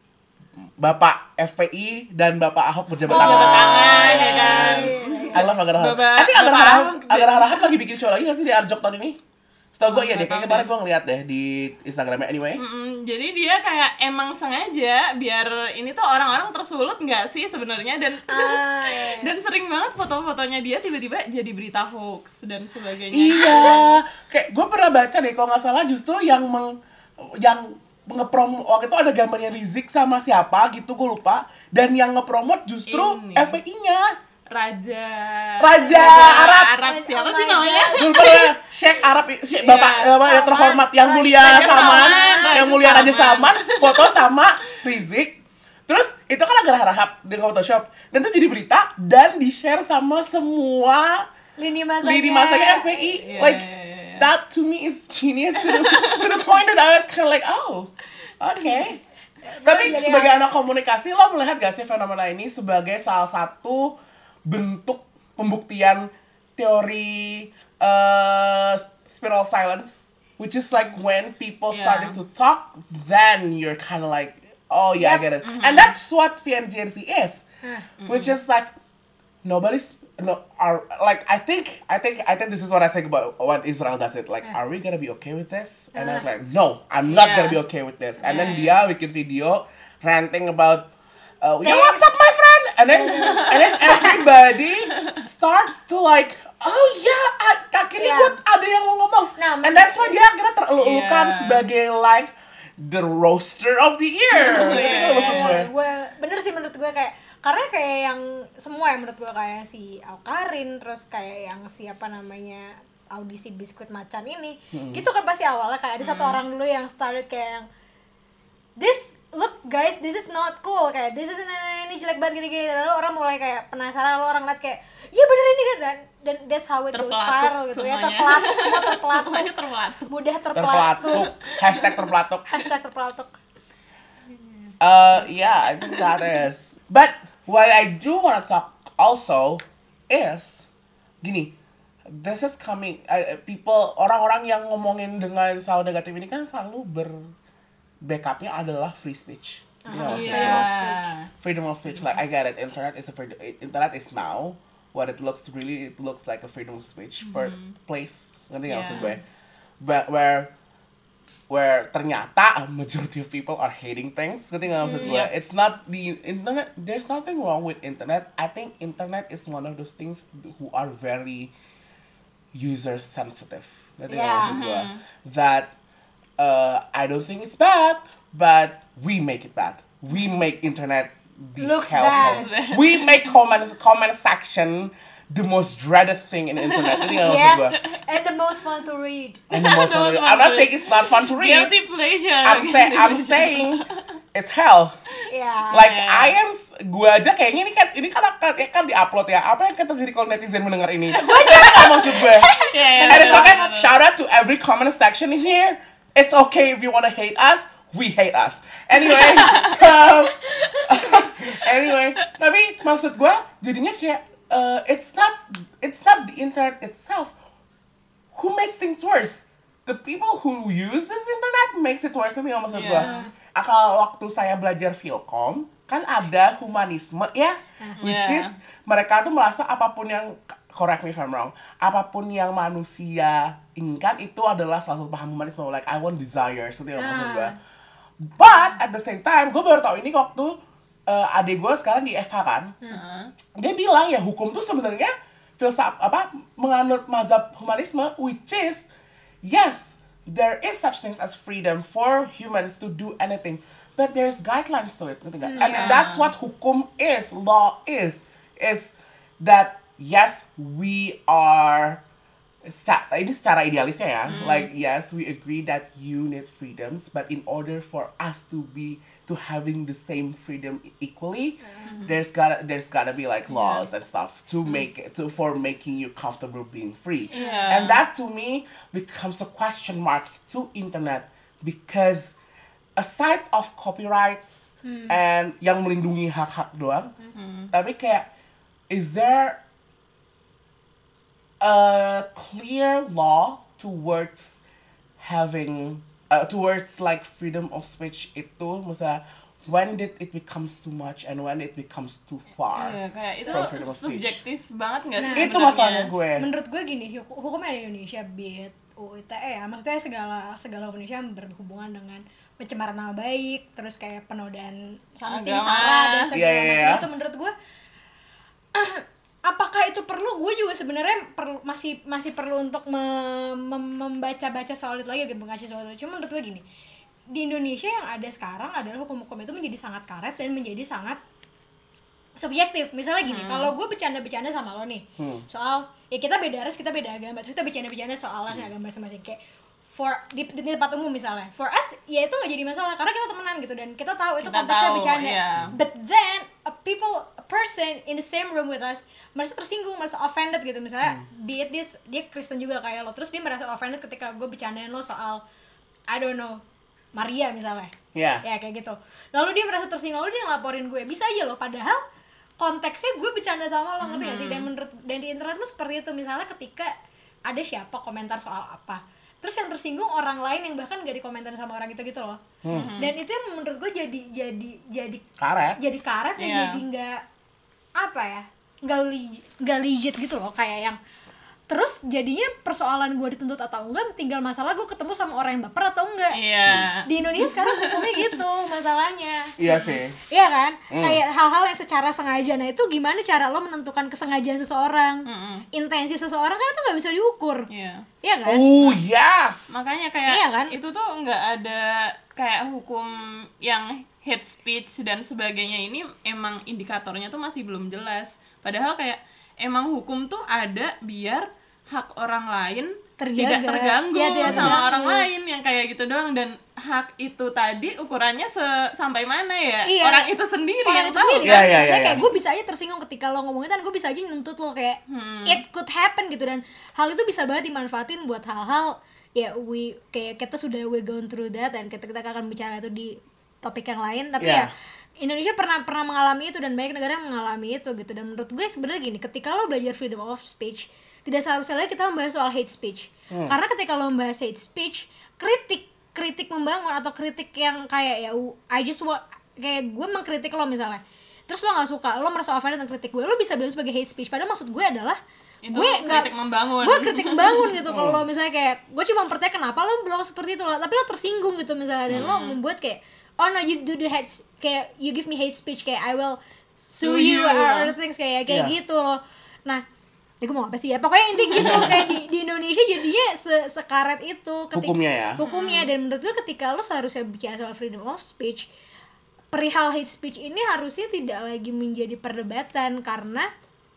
Bapak F P I dan Bapak Ahok berjabat oh, tangan. tangan ya kan. I love Agar Harahap. Bapak, I think Agar Bapak Harahap, Ahok Agar Harahap lagi bikin show lagi nggak sih di Arjok tahun ini? Setahu gue oh, iya deh, kayak kemarin gue ngeliat deh di Instagramnya anyway. Mm-mm, jadi dia kayak emang sengaja biar ini tuh orang-orang tersulut nggak sih sebenarnya dan ah, iya. dan sering banget foto-fotonya dia tiba-tiba jadi berita hoax dan sebagainya. Iya, kayak gue pernah baca deh kalau nggak salah justru yang meng, yang ngeprom waktu itu ada gambarnya Rizik sama siapa gitu gue lupa, dan yang ngepromot justru ini. F P I-nya. Raja Raja Arab. Arab siapa Oh sih my namanya? Gue lupa ya, Sheikh Arab, Sheikh Bapak Yeah, apa yang terhormat, yang mulia Raja Salman, Salman, yang Raja mulia Raja Salman. Salman, foto sama Rizik. Terus itu kan Agar Harahap di Photoshop dan itu jadi berita dan di-share sama semua lini masanya lini masanya F P I. Yeah, Like yeah, yeah. that to me is genius to the, to the point that I was kind of like, oh, oke. Okay. Tapi jadi sebagai ya. anak komunikasi, lo melihat gak sih fenomena ini sebagai salah satu bentuk pembuktian teori uh, spiral silence, which is like when people Yeah. starting to talk, then you're kind of like, oh yeah, Yep. I get it. Mm-hmm. And that's what V N G N C is, Mm-hmm. which is like nobody's no are like I think I think I think this is what I think about when Israel does it. Like, Yeah. are we gonna be okay with this? And Uh. I'm like, no, I'm not Yeah. gonna be okay with this. And then Yeah. dia bikin video ranting about, uh, yeah, Thanks. what's up, my friend? And then and then everybody starts to like, oh yeah, a- akhirnya Yeah. gue ada yang mau ngomong. Nah, And that's why dia akhirnya terelulukan Yeah. sebagai like the roaster of the year. Gitu maksud gue. Iya, gue bener sih menurut gue kayak karena kayak yang semua yang menurut gue kayak si Aukarin, terus kayak yang siapa namanya audisi biskuit macan ini, Hmm. gitu kan pasti awalnya kayak ada satu orang dulu yang started kayak yang this look guys, this is not cool, kayak this is ini, ini jelek banget gini-gini, lalu orang mulai kayak penasaran, lalu orang liat kayak iya bener ini kan, dan, dan that's how it goes Terpelatuk viral gitu ya, semuanya. terpelatuk semua terpelatuk, Semuanya terpelatuk. mudah Terpelatuk. terpelatuk, Hashtag terpelatuk. hashtag terpelatuk. Uh, yeah, I think that is. But what I do want to talk also is gini. This is coming. Uh, people, orang-orang yang ngomongin dengan selalu negatif ini kan selalu ber backupnya adalah free speech. You know, Uh-huh. freedom of speech. Yeah. Freedom of speech. Like I get it. Internet is a freedom. Internet is now what it looks really. It looks like a freedom of speech per place. Ngerti nggak maksud Yeah. gue? But where where ternyata a majority of people are hating things. Ngerti nggak maksud gue? Yep. It's not the internet. There's nothing wrong with internet. I think internet is one of those things who are very user sensitive. Ngerti nggak Yeah. maksud gue? That uh, I don't think it's bad, but we make it bad. We make internet the Looks hellhole. bad. We make comment comment section the most dreaded thing in the internet. Itu yang maksud Yes, gue. and the most fun to read. And the most The most I'm fun not to saying it's not fun to read. Guilty pleasure. I'm say Guilty I'm pleasure. saying it's hell. Ya. Like Yeah. I am, gue aja kayaknya ini kan ini kan akan ya kan diupload ya. Apa yang akan terjadi kalau netizen mendengar ini? Gue aja maksud gue. Yeah, yeah, And it's betul, okay. betul, betul. Shout out to every comment section in here. It's okay if you wanna hate us. We hate us. Anyway, um, anyway. Tapi maksud gue jadinya kayak uh, it's not it's not the internet itself who makes things worse. The people who use this internet makes it worse. Itu yang maksud gue. Yeah. Kalau waktu saya belajar Philcom kan ada humanisme ya, which Yeah. is mereka tuh merasa apapun yang, correct me if I'm wrong, apapun yang manusia inginkan itu adalah salah satu paham humanisme, like I want desires, itu yang maksud gue. But at the same time, gue baru tahu ini waktu uh, adik gue sekarang di F H kan, dia bilang ya hukum tuh sebenarnya filsaf apa menganut mazhab humanisme, which is yes, there is such things as freedom for humans to do anything, but there's guidelines to it, ngerti nggak? And Yeah. that's what hukum is, law is, is that yes, we are secara, ini secara idealisnya ya, like yes, we agree that you need freedoms, but in order for us to be to having the same freedom equally, there's gotta there's gotta be like laws and stuff to make it to for making you comfortable being free, Yeah. and that to me becomes a question mark to internet because aside of copyrights and yang melindungi hak-hak doang, tapi kayak is there a clear law towards having uh, towards like freedom of speech itu misalnya when did it becomes too much and when it becomes too far. Iya, kayak itu from freedom of speech. subjektif banget nggak sih Nah, sebenarnya? Itu masalahnya gue. Menurut gue gini, hukum hukumnya di Indonesia, be it U I T E ya, maksudnya segala segala hukum Indonesia yang berhubungan dengan pencemaran nama baik, terus kayak penodaan something Agama. sara dan segala Iya, iya, macam iya. itu menurut gue apakah itu perlu? Gue juga sebenarnya perlu masih masih perlu untuk me- mem- membaca-baca soal itu lagi, gitu, mengasih soal itu. Cuma menurut gue gini, di Indonesia yang ada sekarang adalah hukum-hukum itu menjadi sangat karet dan menjadi sangat subjektif. Misalnya gini, kalau gue bercanda-bercanda sama lo nih soal ya kita beda ras, kita beda agama, terus kita bercanda-bercanda soal ras agama masing-masing, kayak for di, di tempat umum misalnya, for us ya itu nggak jadi masalah karena kita temenan gitu dan kita tahu itu Kita konteksnya tahu, bercanda. iya. But then a people a person in the same room with us merasa tersinggung, merasa offended gitu, misalnya be it this dia Kristen juga kayak lo, terus dia merasa offended ketika gue bercandain lo soal I don't know Maria misalnya, Ya. ya kayak gitu. Lalu dia merasa tersinggung, lalu dia ngelaporin gue, bisa aja loh, padahal konteksnya gue bercanda sama lo, ngerti gak sih? Dan menurut dan di internet tuh seperti itu, misalnya ketika ada siapa komentar soal apa, terus yang tersinggung orang lain yang bahkan gak dikomentarin sama orang itu gitu loh. Dan itu yang menurut gue jadi jadi jadi Karet. jadi karet dan Iya. jadi nggak apa ya, nggak li- nggak legit gitu loh, kayak yang terus jadinya persoalan gue dituntut atau enggak tinggal masalah gue ketemu sama orang yang baper atau enggak. Iya. Di Indonesia sekarang hukumnya gitu masalahnya. Iya sih. Iya kan? Kayak hal-hal yang secara sengaja. Nah itu gimana cara lo menentukan kesengajaan seseorang, intensi seseorang, kan itu nggak bisa diukur. Iya. Iya kan? Oh yes. Makanya kayak Iya kan? itu tuh nggak ada kayak hukum yang hate speech dan sebagainya, ini emang indikatornya tuh masih belum jelas. Padahal kayak emang hukum tuh ada biar hak orang lain Terjaga. tidak terganggu Ya, tidak sama terganggu. orang lain yang kayak gitu doang, dan hak itu tadi ukurannya se- sampai mana ya? Iya. Orang itu sendiri Orang yang itu tahu. sendiri Iya, kan? iya, Maksudnya iya, kayak iya. gue bisa aja tersinggung ketika lo ngomongin, kan gue bisa aja nuntut lo kayak it could happen gitu, dan hal itu bisa banget dimanfaatin buat hal-hal ya we kayak kita sudah we gone through that, dan kita kita akan bicara itu di topik yang lain, tapi Yeah. ya Indonesia pernah pernah mengalami itu dan banyak negara yang mengalami itu gitu. Dan menurut gue sebenarnya gini, ketika lo belajar freedom of speech, tidak seharusnya lagi kita membahas soal hate speech. Karena ketika lo membahas hate speech, kritik kritik membangun atau kritik yang kayak ya I just want, kayak gue mengkritik lo misalnya, terus lo nggak suka, lo merasa offended dengan kritik gue, lo bisa bilang sebagai hate speech. Padahal maksud gue adalah Itu gue kritik membangun. gue kritik membangun gitu. Kalau lo misalnya kayak gue cuma mempertanyakan kenapa lo bilang seperti itu lo, tapi lo tersinggung gitu misalnya, dan lo membuat kayak oh no you do the hate, kayak you give me hate speech, kayak I will sue Sue you you. or other things kayak kayak Yeah. gitu. Nah, ya gue mau apa sih ya, pokoknya inti gitu. Kayak di, di Indonesia jadinya se sekaret itu ketika, Hukumnya ya? hukumnya dan menurut gue ketika lo seharusnya bicara soal freedom of speech, perihal hate speech ini harusnya tidak lagi menjadi perdebatan, karena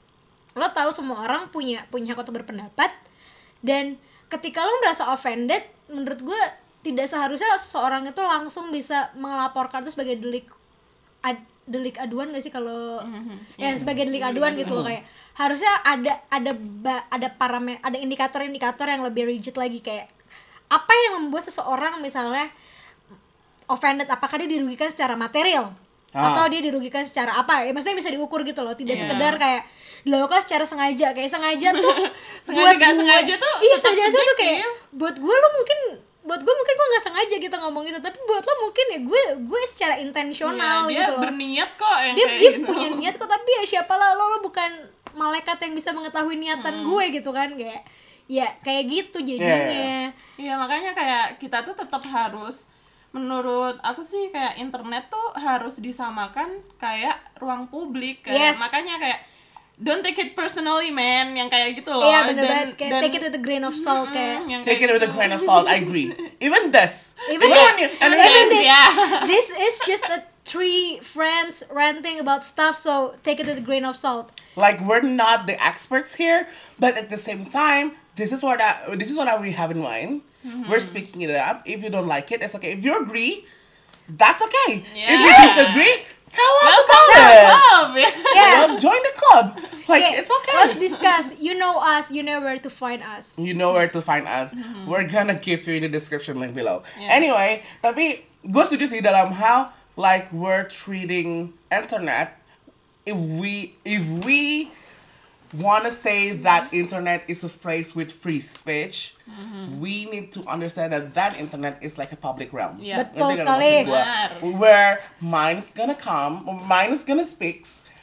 lo tahu semua orang punya punya hak untuk berpendapat, dan ketika lo merasa offended, menurut gue tidak seharusnya seseorang itu langsung bisa melaporkan itu sebagai delik ad, delik aduan gak sih kalau mm-hmm. ya sebagai delik aduan gitu loh, kayak harusnya ada ada ada parameter, ada indikator-indikator yang lebih rigid lagi, kayak apa yang membuat seseorang misalnya offended, apakah dia dirugikan secara material ah. atau dia dirugikan secara apa ya, maksudnya bisa diukur gitu loh, tidak yeah. sekedar kayak dilakukan secara sengaja, kayak sengaja tuh sengaja buat gak gue, sengaja tuh iya sengaja tuh kayak buat gue lo mungkin buat gue mungkin gue nggak sengaja gitu ngomong itu, tapi buat lo mungkin ya gue gue secara intensional ya, gitu loh, dia berniat kok yang dia, kayak dia gitu. punya niat kok, tapi ya siapa lah lo, lo bukan malaikat yang bisa mengetahui niatan hmm. gue gitu kan, kayak ya kayak gitu jadinya. Iya yeah. makanya kayak kita tuh tetap harus, menurut aku sih kayak internet tuh harus disamakan kayak ruang publik, kayak yes. makanya kayak don't take it personally man, yang kayak gitu loh. Iya bener dan, banget, kayak dan, take it with a grain of salt, kayak take it with a grain of salt, I agree. Even this even this and even this yeah. this is just a three friends ranting about stuff, so take it with a grain of salt. Like we're not the experts here, but at the same time, this is what I, this is what we have in mind. Mm-hmm. We're speaking it up. If you don't like it, it's okay. If you agree, that's okay. Yeah. If you disagree, tell us Welcome about to it. the club. Yeah. Well, join the club. Like Okay, it's okay. let's discuss. You know us, you know where to find us. You know where to find us. Mm-hmm. We're gonna give you in the description link below. Yeah. Anyway, tapi gue setuju sih dalam hal like we're treating internet. If we if we wanna say that internet is a place with free speech, mm-hmm. we need to understand that that internet is like a public realm. Yeah. Betul Ngerti nggak sekali. maksud gua? Where mind is gonna come, mind is gonna speak,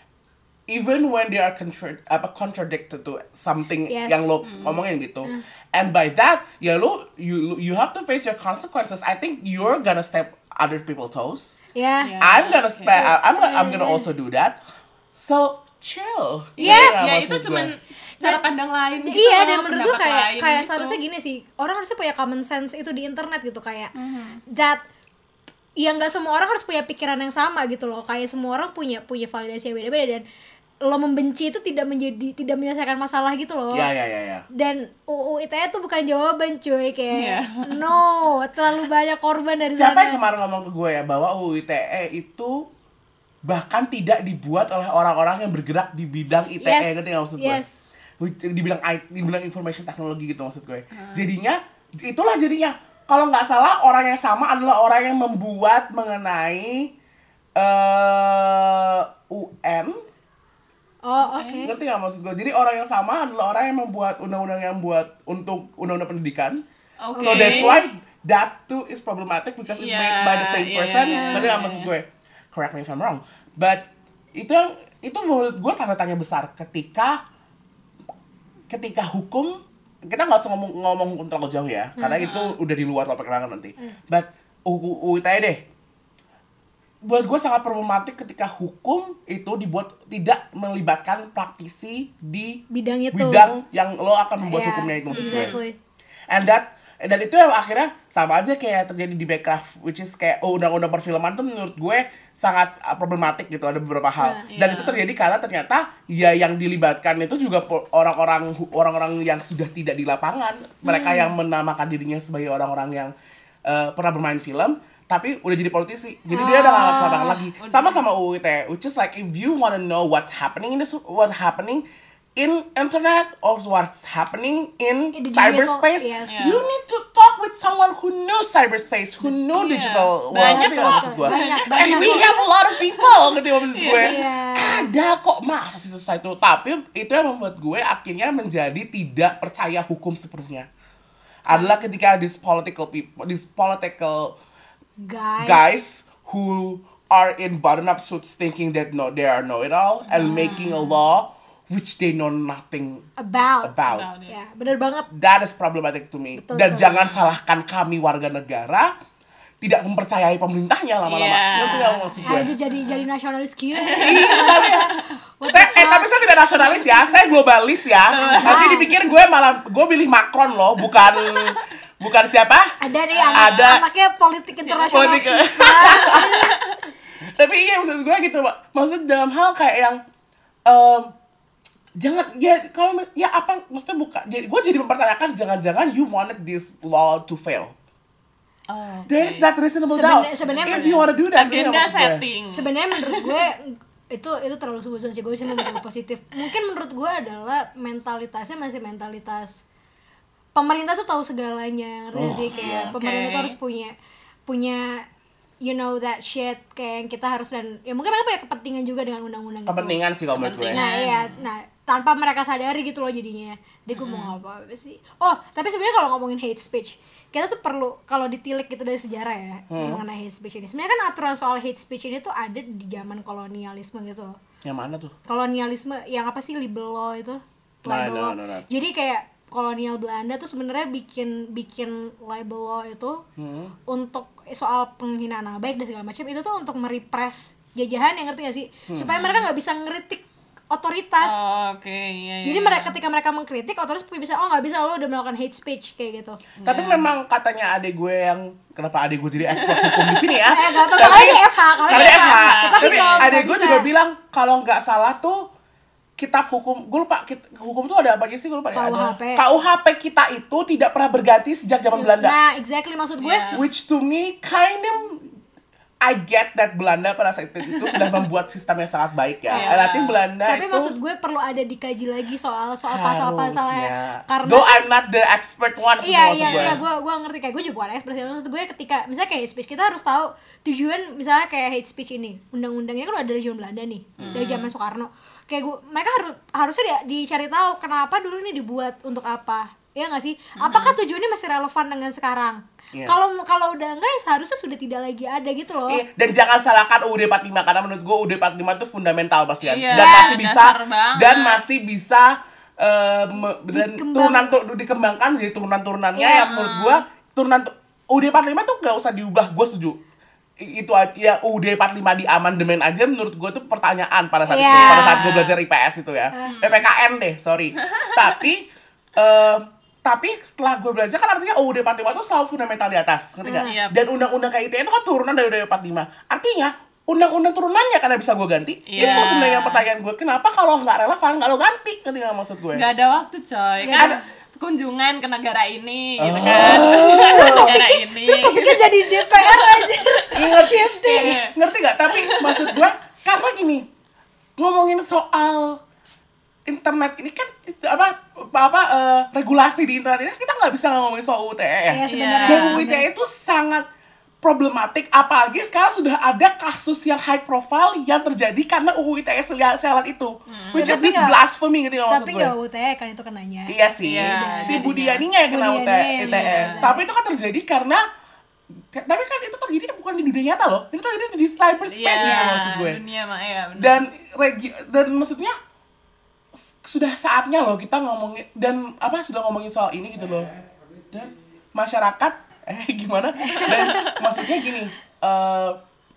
even when they are contra- apa, contradicted to something Yes. yang lo Mm. ngomongin gitu. Mm. And by that, ya lo you you have to face your consequences. I think you're gonna step other people's toes. Yeah. Yeah. I'm gonna okay. spe- I'm gonna, I'm gonna also do that. So chill. Yes. Gitu Ya maksud itu gue. cuman cara pandang lain gitu Iya, loh, dan menurut gue pendapat kayak lain kayak gitu. seharusnya gini sih, orang harusnya punya common sense itu di internet gitu, kayak Mhm. that ya nggak semua orang harus punya pikiran yang sama gitu loh, kayak semua orang punya punya validasi yang beda-beda, dan lo membenci itu tidak menjadi tidak menyelesaikan masalah gitu loh. Ya ya ya ya. Dan U U I T E tuh bukan jawaban cuy, kayak Iya. no, terlalu banyak korban dari Siapa sana. yang kemarin ngomong ke gue ya bahwa U U I T E itu bahkan tidak dibuat oleh orang-orang yang bergerak di bidang I T E, Yes, ngerti nggak maksud gue? yes. Di bidang I T, di bidang information technology gitu maksud gue. Jadinya itulah jadinya kalau nggak salah orang yang sama adalah orang yang membuat mengenai uh, U N. Oh oke. Ngerti nggak maksud gue? Jadi orang yang sama adalah orang yang membuat undang-undang yang buat untuk undang-undang pendidikan. Oke. So that's why that too is problematic because it's Yeah, made by the same yeah, person. yeah, Ngerti nggak yeah, maksud yeah. gue? Correct me if I'm wrong. But itu yang itu menurut gue tanda tanya besar ketika ketika hukum, kita nggak usah ngomong ngomong hukum terlalu jauh ya, karena itu udah di luar topik kita nanti. But U U I T E deh, buat gue sangat problematik ketika hukum itu dibuat tidak melibatkan praktisi di Bidang itu. bidang yang lo akan membuat Yeah, hukumnya itu maksud gue. exactly. And that dan itu yang akhirnya sama aja kayak terjadi di Backcraft, which is kayak oh, undang-undang perfilman tuh menurut gue sangat uh, problematik gitu, ada beberapa hal. Yeah, Dan yeah. itu terjadi karena ternyata ya yang dilibatkan itu juga po- orang-orang orang-orang yang sudah tidak di lapangan, mereka Hmm. yang menamakan dirinya sebagai orang-orang yang uh, pernah bermain film tapi udah jadi politisi. Jadi dia udah nggak ke lapangan lagi. Sama-sama U I T E, which is like if you wanna know what's happening in this what happening in internet or what's happening in In the cyberspace, digital, yes. Yeah. you need to talk with someone who knows cyberspace, who know Yeah. digital world. Banyak Ngerti kok. nggak maksud gue? Banyak, And banyak we kok. have a lot of people, ngerti nggak maksud gue? Iya. Ada kok, masa sih susah itu. Tapi itu yang membuat gue akhirnya menjadi tidak percaya hukum sepenuhnya. Adalah ketika these political people, these political Guys. guys who are in button-up suits thinking that no, they are know-it-all and making a law which they know nothing About. about. About it. Ya, bener banget. That is problematic to me. Betul Dan sekali. jangan salahkan kami warga negara tidak mempercayai pemerintahnya lama-lama. Yeah. Ngerti nggak maksud gue? Aja jadi jadi nasionalis gitu. What Saya, the eh fuck? tapi saya tidak nasionalis ya, saya globalis ya. Nanti dipikir gue malah gue pilih Macron loh, bukan bukan siapa? Ada nih anak, Ada. anaknya politik internasional. Politik. Tapi iya maksud gue gitu, Pak. Maksud dalam hal kayak yang em, jangan ya kalau ya apa maksudnya bukan jadi gue jadi mempertanyakan jangan-jangan you wanted this law to fail. Oh, okay. There is that reasonable Seben- doubt. sebenarnya If you wanna do that, Agenda maksud gue. setting. Sebenarnya menurut gue itu itu terlalu suzon sih, gue sih mau mencoba positif. Mungkin menurut gue adalah mentalitasnya masih mentalitas pemerintah tuh tahu segalanya, ngerti gak sih, kayak okay. pemerintah tuh harus punya punya you know that shit, kayak yang kita harus, dan ya mungkin mereka punya kepentingan juga dengan undang-undang gitu. Kepentingan sih kalau menurut gue. Nah iya, nah tanpa mereka sadari gitu loh jadinya. Jadi gue mau ngomong apa sih? Oh tapi sebenarnya kalau ngomongin hate speech, kita tuh perlu kalau ditilik gitu dari sejarah ya hmm. mengenai hate speech ini. Sebenarnya kan aturan soal hate speech ini tuh ada di zaman kolonialisme gitu loh. Yang mana tuh? Kolonialisme yang apa sih, libel law itu? Libel no, law. no, no. Jadi kayak kolonial Belanda tuh sebenarnya bikin bikin libel law itu hmm. untuk soal penghinaan nama baik dan segala macam, itu tuh untuk merepress jajahan, yang ngerti gak sih? Hmm. Supaya mereka nggak bisa ngeritik otoritas. Oh, oke, okay. iya, iya. Jadi mereka ketika mereka mengkritik, otoritas bisa, oh nggak bisa, lo udah melakukan hate speech kayak gitu. Tapi yeah. memang katanya adik gue yang kenapa adik gue jadi expert hukum di sini ya? Eh, gak apa-apa, karena di F H, karena di F H. Kita Tapi film, adik gue bisa. juga bilang kalau nggak salah tuh kitab hukum, gue lupa kit, hukum tuh ada apa aja sih, gue lupa ya. K U H P. K U H P kita itu tidak pernah berganti sejak zaman Belanda. Nah, exactly maksud gue. Yeah. Which to me kind of I get that Belanda pada saat itu sudah membuat sistem yang sangat baik ya. Yeah. Nanti Belanda Tapi itu maksud gue perlu ada dikaji lagi soal soal pasal-pasalnya, karena though I'm not the expert one sih iya maksud iya gue. iya gue gue ngerti, kayak gue juga bukan expert. Maksud gue ketika misalnya kayak hate speech, kita harus tahu tujuan misalnya kayak hate speech ini, undang-undangnya kan udah dari zaman Belanda nih, hmm. dari zaman Soekarno. Kayak gue, mereka harus harusnya di, dicari tahu kenapa dulu ini dibuat, untuk apa, ya nggak sih? Apakah tujuannya masih relevan dengan sekarang? Yeah. Kalau kalau udah enggak ya seharusnya sudah tidak lagi ada gitu loh. Iya, dan jangan salahkan U U D empat puluh lima karena menurut gue U U D empat puluh lima itu fundamental pasti kan. Iya, dan masih bisa banget. dan masih bisa uh, me, dan Dikembang. turunan tu, dikembangkan jadi turunan-turunannya Yes. yang menurut gue turunan U U D empat puluh lima tuh gak usah diubah, gue setuju. I, itu ya U U D empat puluh lima di amandemen aja menurut gue tuh pertanyaan pada saat Yeah. itu, pada saat gue belajar I P S itu ya. Hmm. P P K N deh, sorry. Tapi uh, tapi setelah gue belajar kan artinya U U D empat puluh lima itu selalu fundamental di atas, ngerti nggak? Hmm, yep. Dan undang-undang K I T itu kan turunan dari U U D empat puluh lima. Artinya undang-undang turunannya karena bisa gue ganti. Yeah. Itu sebenarnya pertanyaan gue, kenapa kalau nggak relevan nggak lo ganti? Ngerti nggak maksud gue? Gak ada waktu coy, Gak kan ada. kunjungan ke negara ini gitu Oh. kan. Terus negara topiknya, ini. terus topiknya jadi D P R aja. Shifting. Iya. Ngerti nggak? Tapi maksud gue karena gini, ngomongin soal internet ini kan itu apa apa uh, regulasi di internet ini kita nggak bisa ngomongin soal U U I T E ya. Iya sebenarnya. Dan U U I T E itu sangat problematik, apalagi sekarang sudah ada kasus yang high profile yang terjadi karena U U I T E selat itu, hmm. which Ya, is tapi this nggak- blasphemy gitu maksud Tapi gue. nggak U T E kan itu kenanya. Iya sih, Iya, si jadinya. Budianinya yang kena U T E. Budiani yang I T E. kena. Tapi itu kan terjadi karena, tapi kan itu terjadi bukan di dunia nyata loh, itu terjadi di cyberspace Iya, gitu maksud gue. dunia mah ya benar. Dan regi dan maksudnya s- sudah saatnya loh kita ngomongin dan apa sudah ngomongin soal ini gitu loh. Dan masyarakat eh gimana? Dan maksudnya gini, eh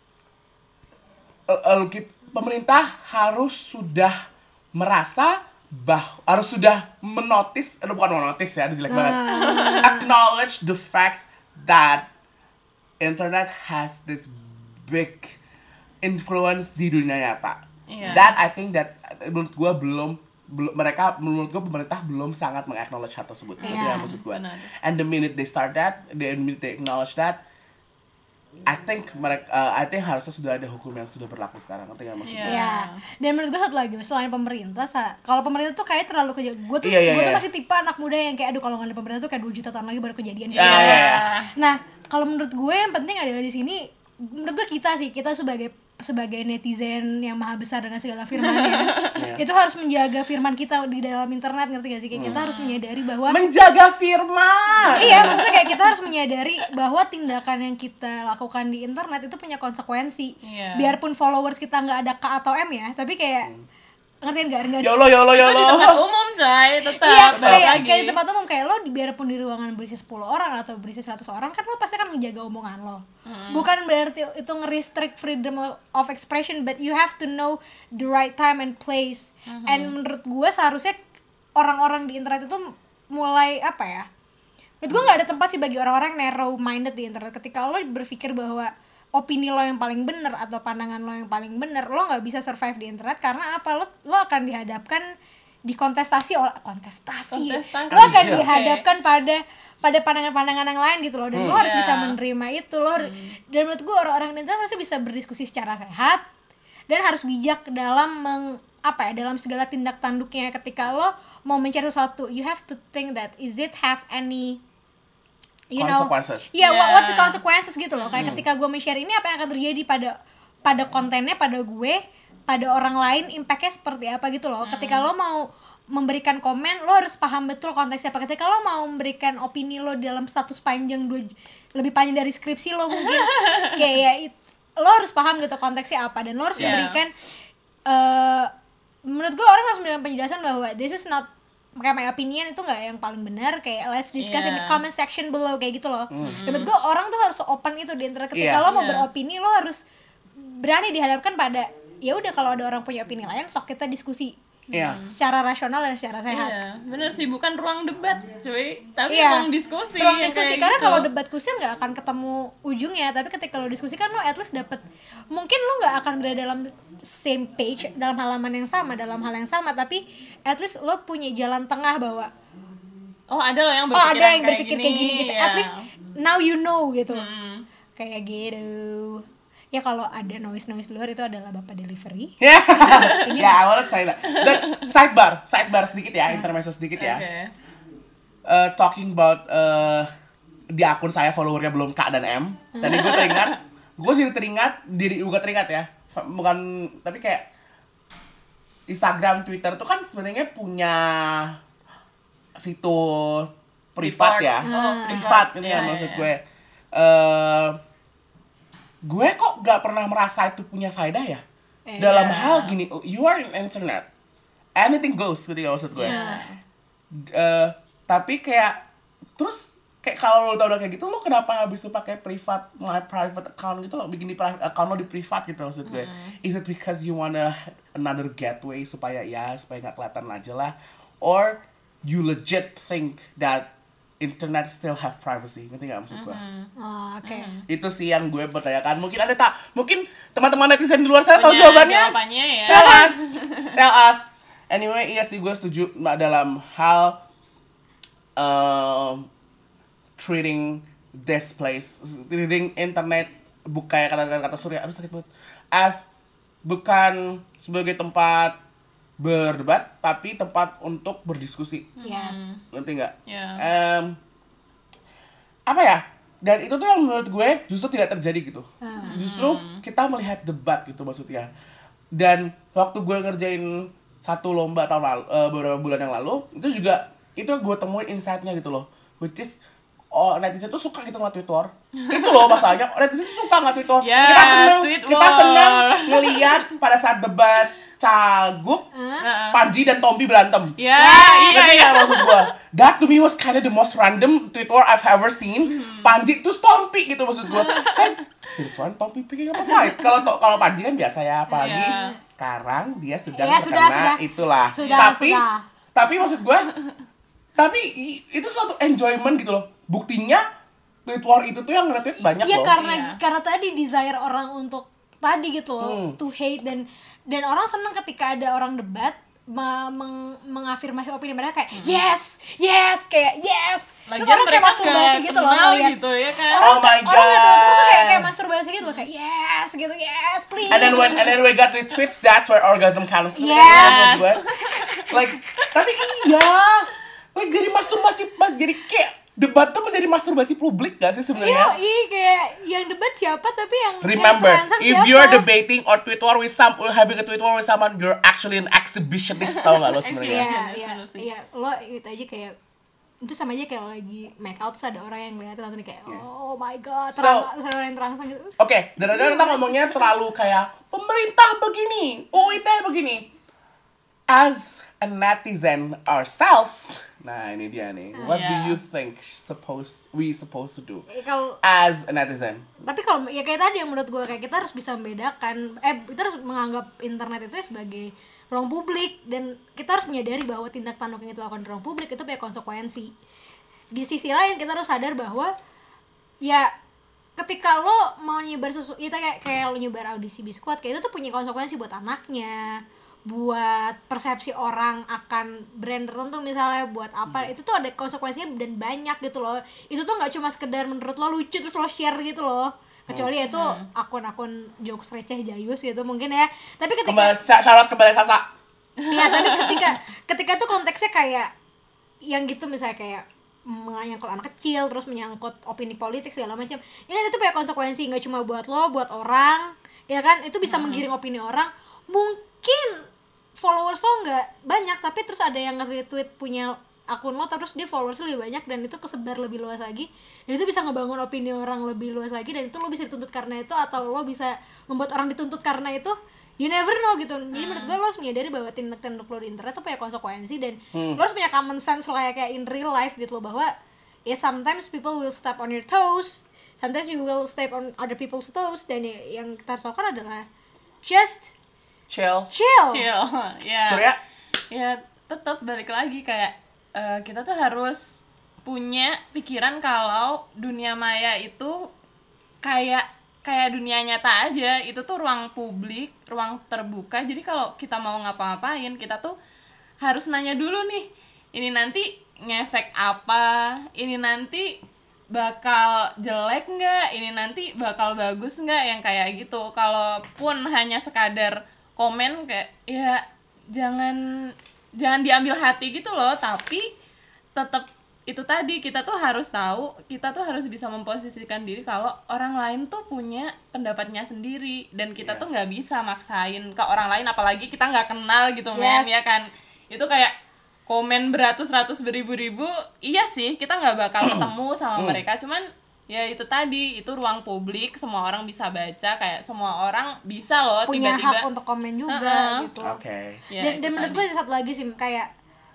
uh, uh, kit- pemerintah harus sudah merasa bah harus sudah menotis, aduh bukan menotis ya, itu jelek banget. Acknowledge the fact that internet has this big influence di dunia nyata. Iya. That I think that menurut gue belum belum mereka menurut gue pemerintah belum sangat mengacknowledge hal tersebut. Itu Iya, yang maksud gue. benar. And the minute they start that, the minute they acknowledge that, I think mereka, uh, I think harusnya sudah ada hukum yang sudah berlaku sekarang. Ngerti nggak maksud gue? Iya. Iya. Dan menurut gue satu lagi, selain pemerintah, sa- kalau pemerintah tuh kayak terlalu kejadian. Gue tuh, Iya, iya, gue tuh iya. masih tipe anak muda yang kayak aduh kalau nggak ada pemerintah tuh kayak dua juta tahun lagi baru kejadian. Iya, iya, iya. Nah, kalau menurut gue yang penting adalah di sini, menurut gue kita sih, kita sebagai sebagai netizen yang maha besar dengan segala firman-Nya, itu harus menjaga firman kita di dalam internet, ngerti gak sih? Kayak kita harus menyadari bahwa Menjaga firman. iya, maksudnya kayak kita harus menyadari bahwa tindakan yang kita lakukan di internet itu punya konsekuensi. Iya. Biarpun followers kita nggak ada K atau M ya, tapi kayak ngertiin nggak? Nggak Yolo yolo Itu di tempat yolo. umum coy, tetap Iya, balik kayak, lagi. kayak di tempat umum, kayak lo di- biarpun di ruangan berisi sepuluh orang atau berisi seratus orang, kan lo pasti kan menjaga omongan lo. Hmm. Bukan berarti itu nge-restrict freedom of expression, but you have to know the right time and place. Hmm. And menurut gue seharusnya orang-orang di internet itu mulai apa ya? Menurut gue nggak ada tempat sih bagi orang-orang narrow minded di internet. Ketika lo berpikir bahwa opini lo yang paling benar atau pandangan lo yang paling benar, lo nggak bisa survive di internet karena apa? Lo lo akan dihadapkan dikontestasi oleh kontestasi, Kontestasi. lo akan Anjir. dihadapkan pada pada pandangan-pandangan yang lain gitu loh, dan lo harus Yeah. bisa menerima itu lo har- dan menurut gue orang-orang di internet harus bisa berdiskusi secara sehat dan harus bijak dalam meng, apa ya dalam segala tindak tanduknya. Ketika lo mau mencari sesuatu, you have to think that is it have any you know Consequences. yeah, what- Yeah. what's the consequences gitu loh. Kayak ketika gue men-share ini, apa yang akan terjadi pada pada kontennya, pada gue, pada orang lain, impactnya seperti apa gitu loh. Ketika lo mau memberikan komen, lo harus paham betul konteksnya apa. Ketika lo mau memberikan opini lo dalam status panjang dua, lebih panjang dari skripsi lo mungkin, kayak ya, it- lo harus paham gitu konteksnya apa, dan lo harus Yeah. memberikan eh menurut gue orang harus memberikan penjelasan bahwa this is not, kayak my opinion itu nggak yang paling benar, kayak let's discuss in the Yeah. comment section below kayak gitu loh. Dan menurut gue orang tuh harus open itu di internet. Ketika Iya. lo mau Iya. beropini, lo harus berani dihadapkan pada ya udah, kalau ada orang punya opini lain, sok kita diskusi Iya. secara rasional dan secara sehat. Iya, bener sih, bukan ruang debat cuy, tapi Iya. ruang diskusi. Ruang ya, diskusi, kayak karena gitu. kalau debat kusir nggak akan ketemu ujungnya. Tapi ketika lo diskusi kan lo at least dapet, mungkin lo nggak akan berada dalam same page, dalam halaman yang sama, dalam hal yang sama, tapi at least lo punya jalan tengah bahwa oh ada loh yang oh berpikiran ada yang kayak berpikir gini, kayak gini gitu. ya. At least now you know gitu. Hmm. Kayak gitu. Ya kalau ada noise-noise luar itu adalah Bapak delivery. Ya, ya, I wanna say that. Dan sidebar, sidebar sedikit ya, intermezzo sedikit ya. Oke. Uh, talking about uh, di akun saya followernya belum K dan M. Tadi gue teringat, gue jadi teringat diri gue teringat ya. Bukan, tapi kayak Instagram, Twitter tuh kan sebenarnya punya fitur privat Report. ya, Oh, privat gitu Iya, ya iya, maksud iya. gue. Eh, gue kok gak pernah merasa itu punya faedah ya. Eh, Dalam iya. hal gini, you are in internet, anything goes gitu ya maksud gue. Iya. Eh, tapi kayak terus kayak kalau lo tau udah kayak gitu, lo kenapa habis itu pakai privat, my private account gitu lo, bikin di private account lo di privat gitu maksud gue. Is it because you wanna another getaway supaya ya supaya nggak kelihatan aja lah, or you legit think that internet still have privacy, ngerti nggak maksud gue? Oh, oke. Itu sih yang gue pertanyakan. Mungkin ada tak, mungkin teman-teman netizen di luar sana tahu Punya jawabannya. jawabannya ya. Tell us, tell us. Anyway, iya sih gue setuju Mbak, dalam hal um, treating this place, treating internet bukan kata-kata Surya, aduh sakit banget, as bukan sebagai tempat berdebat, tapi tempat untuk berdiskusi. Yes. Ngerti nggak? Iya. Em, apa ya? Dan itu tuh yang menurut gue justru tidak terjadi gitu. Justru kita melihat debat gitu maksudnya. Dan waktu gue ngerjain satu lomba tahun lalu, eh, beberapa bulan yang lalu, itu juga itu gue temuin insight-nya gitu loh. Which is oh, netizen tuh suka gitu nge-tweet war. Itu loh masalahnya, netizen tuh suka nge-tweet war. Yes, kita seneng, tweet kita war. seneng ngelihat pada saat debat Cagup, Panji dan Tompi berantem. Ya, iya, Ngerti iya. nggak maksud gua? That to me was kind of the most random tweet war I've ever seen. Panji terus Tompi gitu maksud gua. Hey, serius one Tompi picking up a fight. Kalau to- kalau Panji kan biasa ya, apalagi Iya. sekarang dia sedang Ya, terkena sudah, sudah. itulah. Sudah, tapi sudah. tapi maksud gua, tapi i- itu suatu enjoyment gitu loh. Buktinya tweet war itu tuh yang nge-tweet banyak Iya, loh. karena Iya. karena tadi desire orang untuk tadi gitu loh, Hmm. to hate, dan dan orang seneng ketika ada orang debat me- meng- mengafirmasi opini mereka kayak yes, yes, kayak yes. Terus Lagian orang kayak mereka masturbasi gak gitu loh kenal ngeliat. gitu ya kan. Orang Oh my orang nggak tahu God. terus tuh kayak kayak masturbasi gitu loh, kayak yes gitu, yes please. And then when and then we got retweets, that's where orgasm comes. Ngerti Yes. nggak maksud gue? Like, tapi iya, like jadi masturbasi, mas jadi kayak debat tuh menjadi masturbasi publik gak sih Iya, sebenarnya? iya, kayak yang debat siapa tapi yang Remember, yang terangsang if siapa? you're debating or tweet war with some, or having a tweet war with someone, you're actually an exhibitionist, tau gak lo sebenarnya? Iya, Yes, iya, bener sih. iya, lo itu aja kayak itu sama aja kayak lo lagi make out terus ada orang yang ngeliatin langsung kayak oh my god, So- terang, terus ada orang yang terangsang gitu. Oke, dan dan kita ngomongnya terlalu kayak pemerintah begini, U I T begini. As a netizen ourselves, nah ini dia nih. What do Yeah. you think suppose we supposed to do Eh, Kalau as a netizen? tapi kalau ya kayak tadi yang menurut gue kayak kita harus bisa membedakan, eh kita harus menganggap internet itu ya sebagai ruang publik, dan kita harus menyadari bahwa tindak tanduk yang kita lakukan di ruang publik itu punya konsekuensi. Di sisi lain kita harus sadar bahwa ya ketika lo mau nyebar sesuatu, kita kayak kayak lo nyebar audisi biskuit kayak itu tuh punya konsekuensi buat anaknya, buat persepsi orang akan brand tertentu misalnya, buat apa, Hmm. itu tuh ada konsekuensinya dan banyak gitu loh. Itu tuh nggak cuma sekedar menurut lo lucu terus lo share gitu loh, kecuali itu akun-akun jokes receh jayus gitu mungkin ya. Tapi ketika Kembali syarat kembali Sasa. ya tapi ketika ketika tuh konteksnya kayak yang gitu misalnya kayak menyangkut anak kecil terus menyangkut opini politik segala macam, ini itu punya konsekuensi nggak cuma buat lo, buat orang, ya kan, itu bisa menggiring opini orang. Mungkin followers lo nggak banyak tapi terus ada yang nge-retweet punya akun lo terus dia followers lebih banyak dan itu kesebar lebih luas lagi, dan itu bisa ngebangun opini orang lebih luas lagi, dan itu lo bisa dituntut karena itu atau lo bisa membuat orang dituntut karena itu. You never know gitu. Jadi menurut gue lo harus menyadari bahwa tindak-tanduk lo di internet tuh punya konsekuensi, dan Hmm. lo harus punya common sense lah kayak in real life gitu loh, bahwa ya sometimes people will step on your toes, sometimes you will step on other people's toes, dan ya, yang kita harus lakukan adalah just Chill. chill. Chill. Ya. Surya? Ya, tetap balik lagi kayak eh, kita tuh harus punya pikiran kalau dunia maya itu kayak kayak dunia nyata aja. Itu tuh ruang publik, ruang terbuka. Jadi kalau kita mau ngapa-ngapain, kita tuh harus nanya dulu nih, ini nanti ngefek apa? Ini nanti bakal jelek nggak? Ini nanti bakal bagus nggak? Yang kayak gitu. Kalaupun hanya sekadar komen kayak ya jangan jangan diambil hati gitu loh, tapi tetap itu tadi, kita tuh harus tahu, kita tuh harus bisa memposisikan diri kalau orang lain tuh punya pendapatnya sendiri, dan kita Yeah. tuh nggak bisa maksain ke orang lain, apalagi kita nggak kenal gitu men, Yes. ya kan. Itu kayak komen beratus-ratus beribu-ribu, iya sih kita nggak bakal ketemu sama mereka, cuman ya itu tadi, itu ruang publik, semua orang bisa baca, kayak semua orang bisa loh Punya tiba-tiba hak untuk komen juga Uh-uh. gitu. Oke. Ya, dan itu dan menurut tadi. gue satu lagi sih, kayak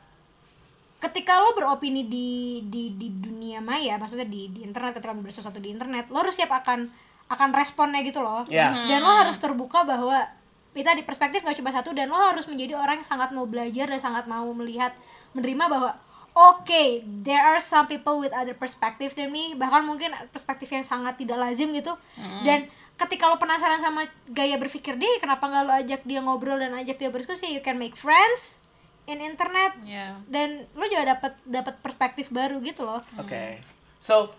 ketika lo beropini di di di dunia maya, maksudnya di di internet, ketika lo bersesuatu di internet, lo harus siap akan akan responnya gitu loh. Yeah. Dan lo harus terbuka bahwa kita di perspektif gak cuma satu, dan lo harus menjadi orang yang sangat mau belajar dan sangat mau melihat, menerima bahwa oke, okay, there are some people with other perspective than me, bahkan mungkin perspektif yang sangat tidak lazim gitu. Dan ketika lo penasaran sama gaya berpikir dia, kenapa nggak lo ajak dia ngobrol dan ajak dia berdiskusi? You can make friends in internet, Ya. dan lo juga dapat dapat perspektif baru gitu loh. Oke. So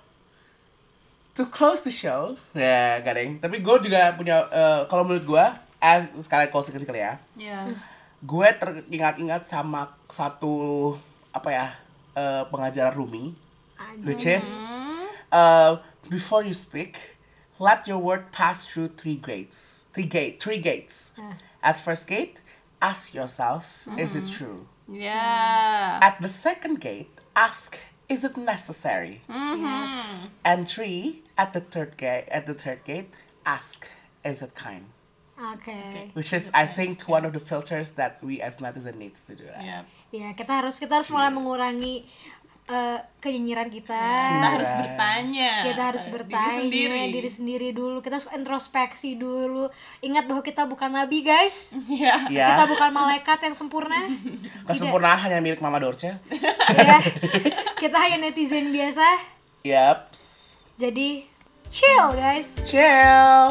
to close the show, ya gading. Tapi gue juga punya, eh, kalau menurut gue, as sekalian closing kecil ya. Ya. Gue teringat-ingat sama satu apa ya, eh, pengajaran Rumi, which is uh, before you speak, let your word pass through three gates. Three gate, three gates. Ah. At first gate, ask yourself, is it true? Ya. At the second gate, ask, is it necessary? Mhm. And three, at the third gate, at the third gate, ask, is it kind? Oke. Which is, I think, one of the filters that we as netizen needs to do. That. Ya. Ya, kita harus kita harus mulai mengurangi eh, kenyinyiran kita. Kita harus Right. bertanya. Kita harus Diri bertanya sendiri. diri sendiri dulu. Kita harus introspeksi dulu. Ingat bahwa kita bukan nabi, guys. Ya. Ya, Kita bukan malaikat yang sempurna. kesempurnaan hanya milik Mama Dorce. Ya. Kita hanya netizen biasa. Yup. Jadi chill, guys. Chill.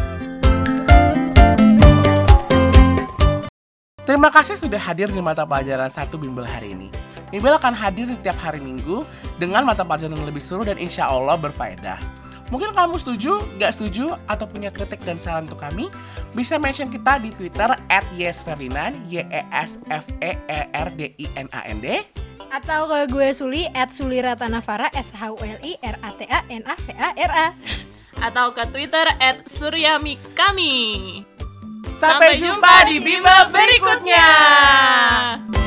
Terima kasih sudah hadir di mata pelajaran satu Bimbel hari ini. Bimbel akan hadir di tiap hari Minggu dengan mata pelajaran yang lebih seru dan insya Allah berfaedah. Mungkin kamu setuju, gak setuju, atau punya kritik dan saran untuk kami, bisa mention kita di Twitter at yesferdinand, Y E S F E E R D I N A N D. Atau ke gue Suli at Suliratanavara, S H U L I R A T A N A V A R A. Atau ke Twitter at suryamikami. Sampai jumpa di Bimbel berikutnya.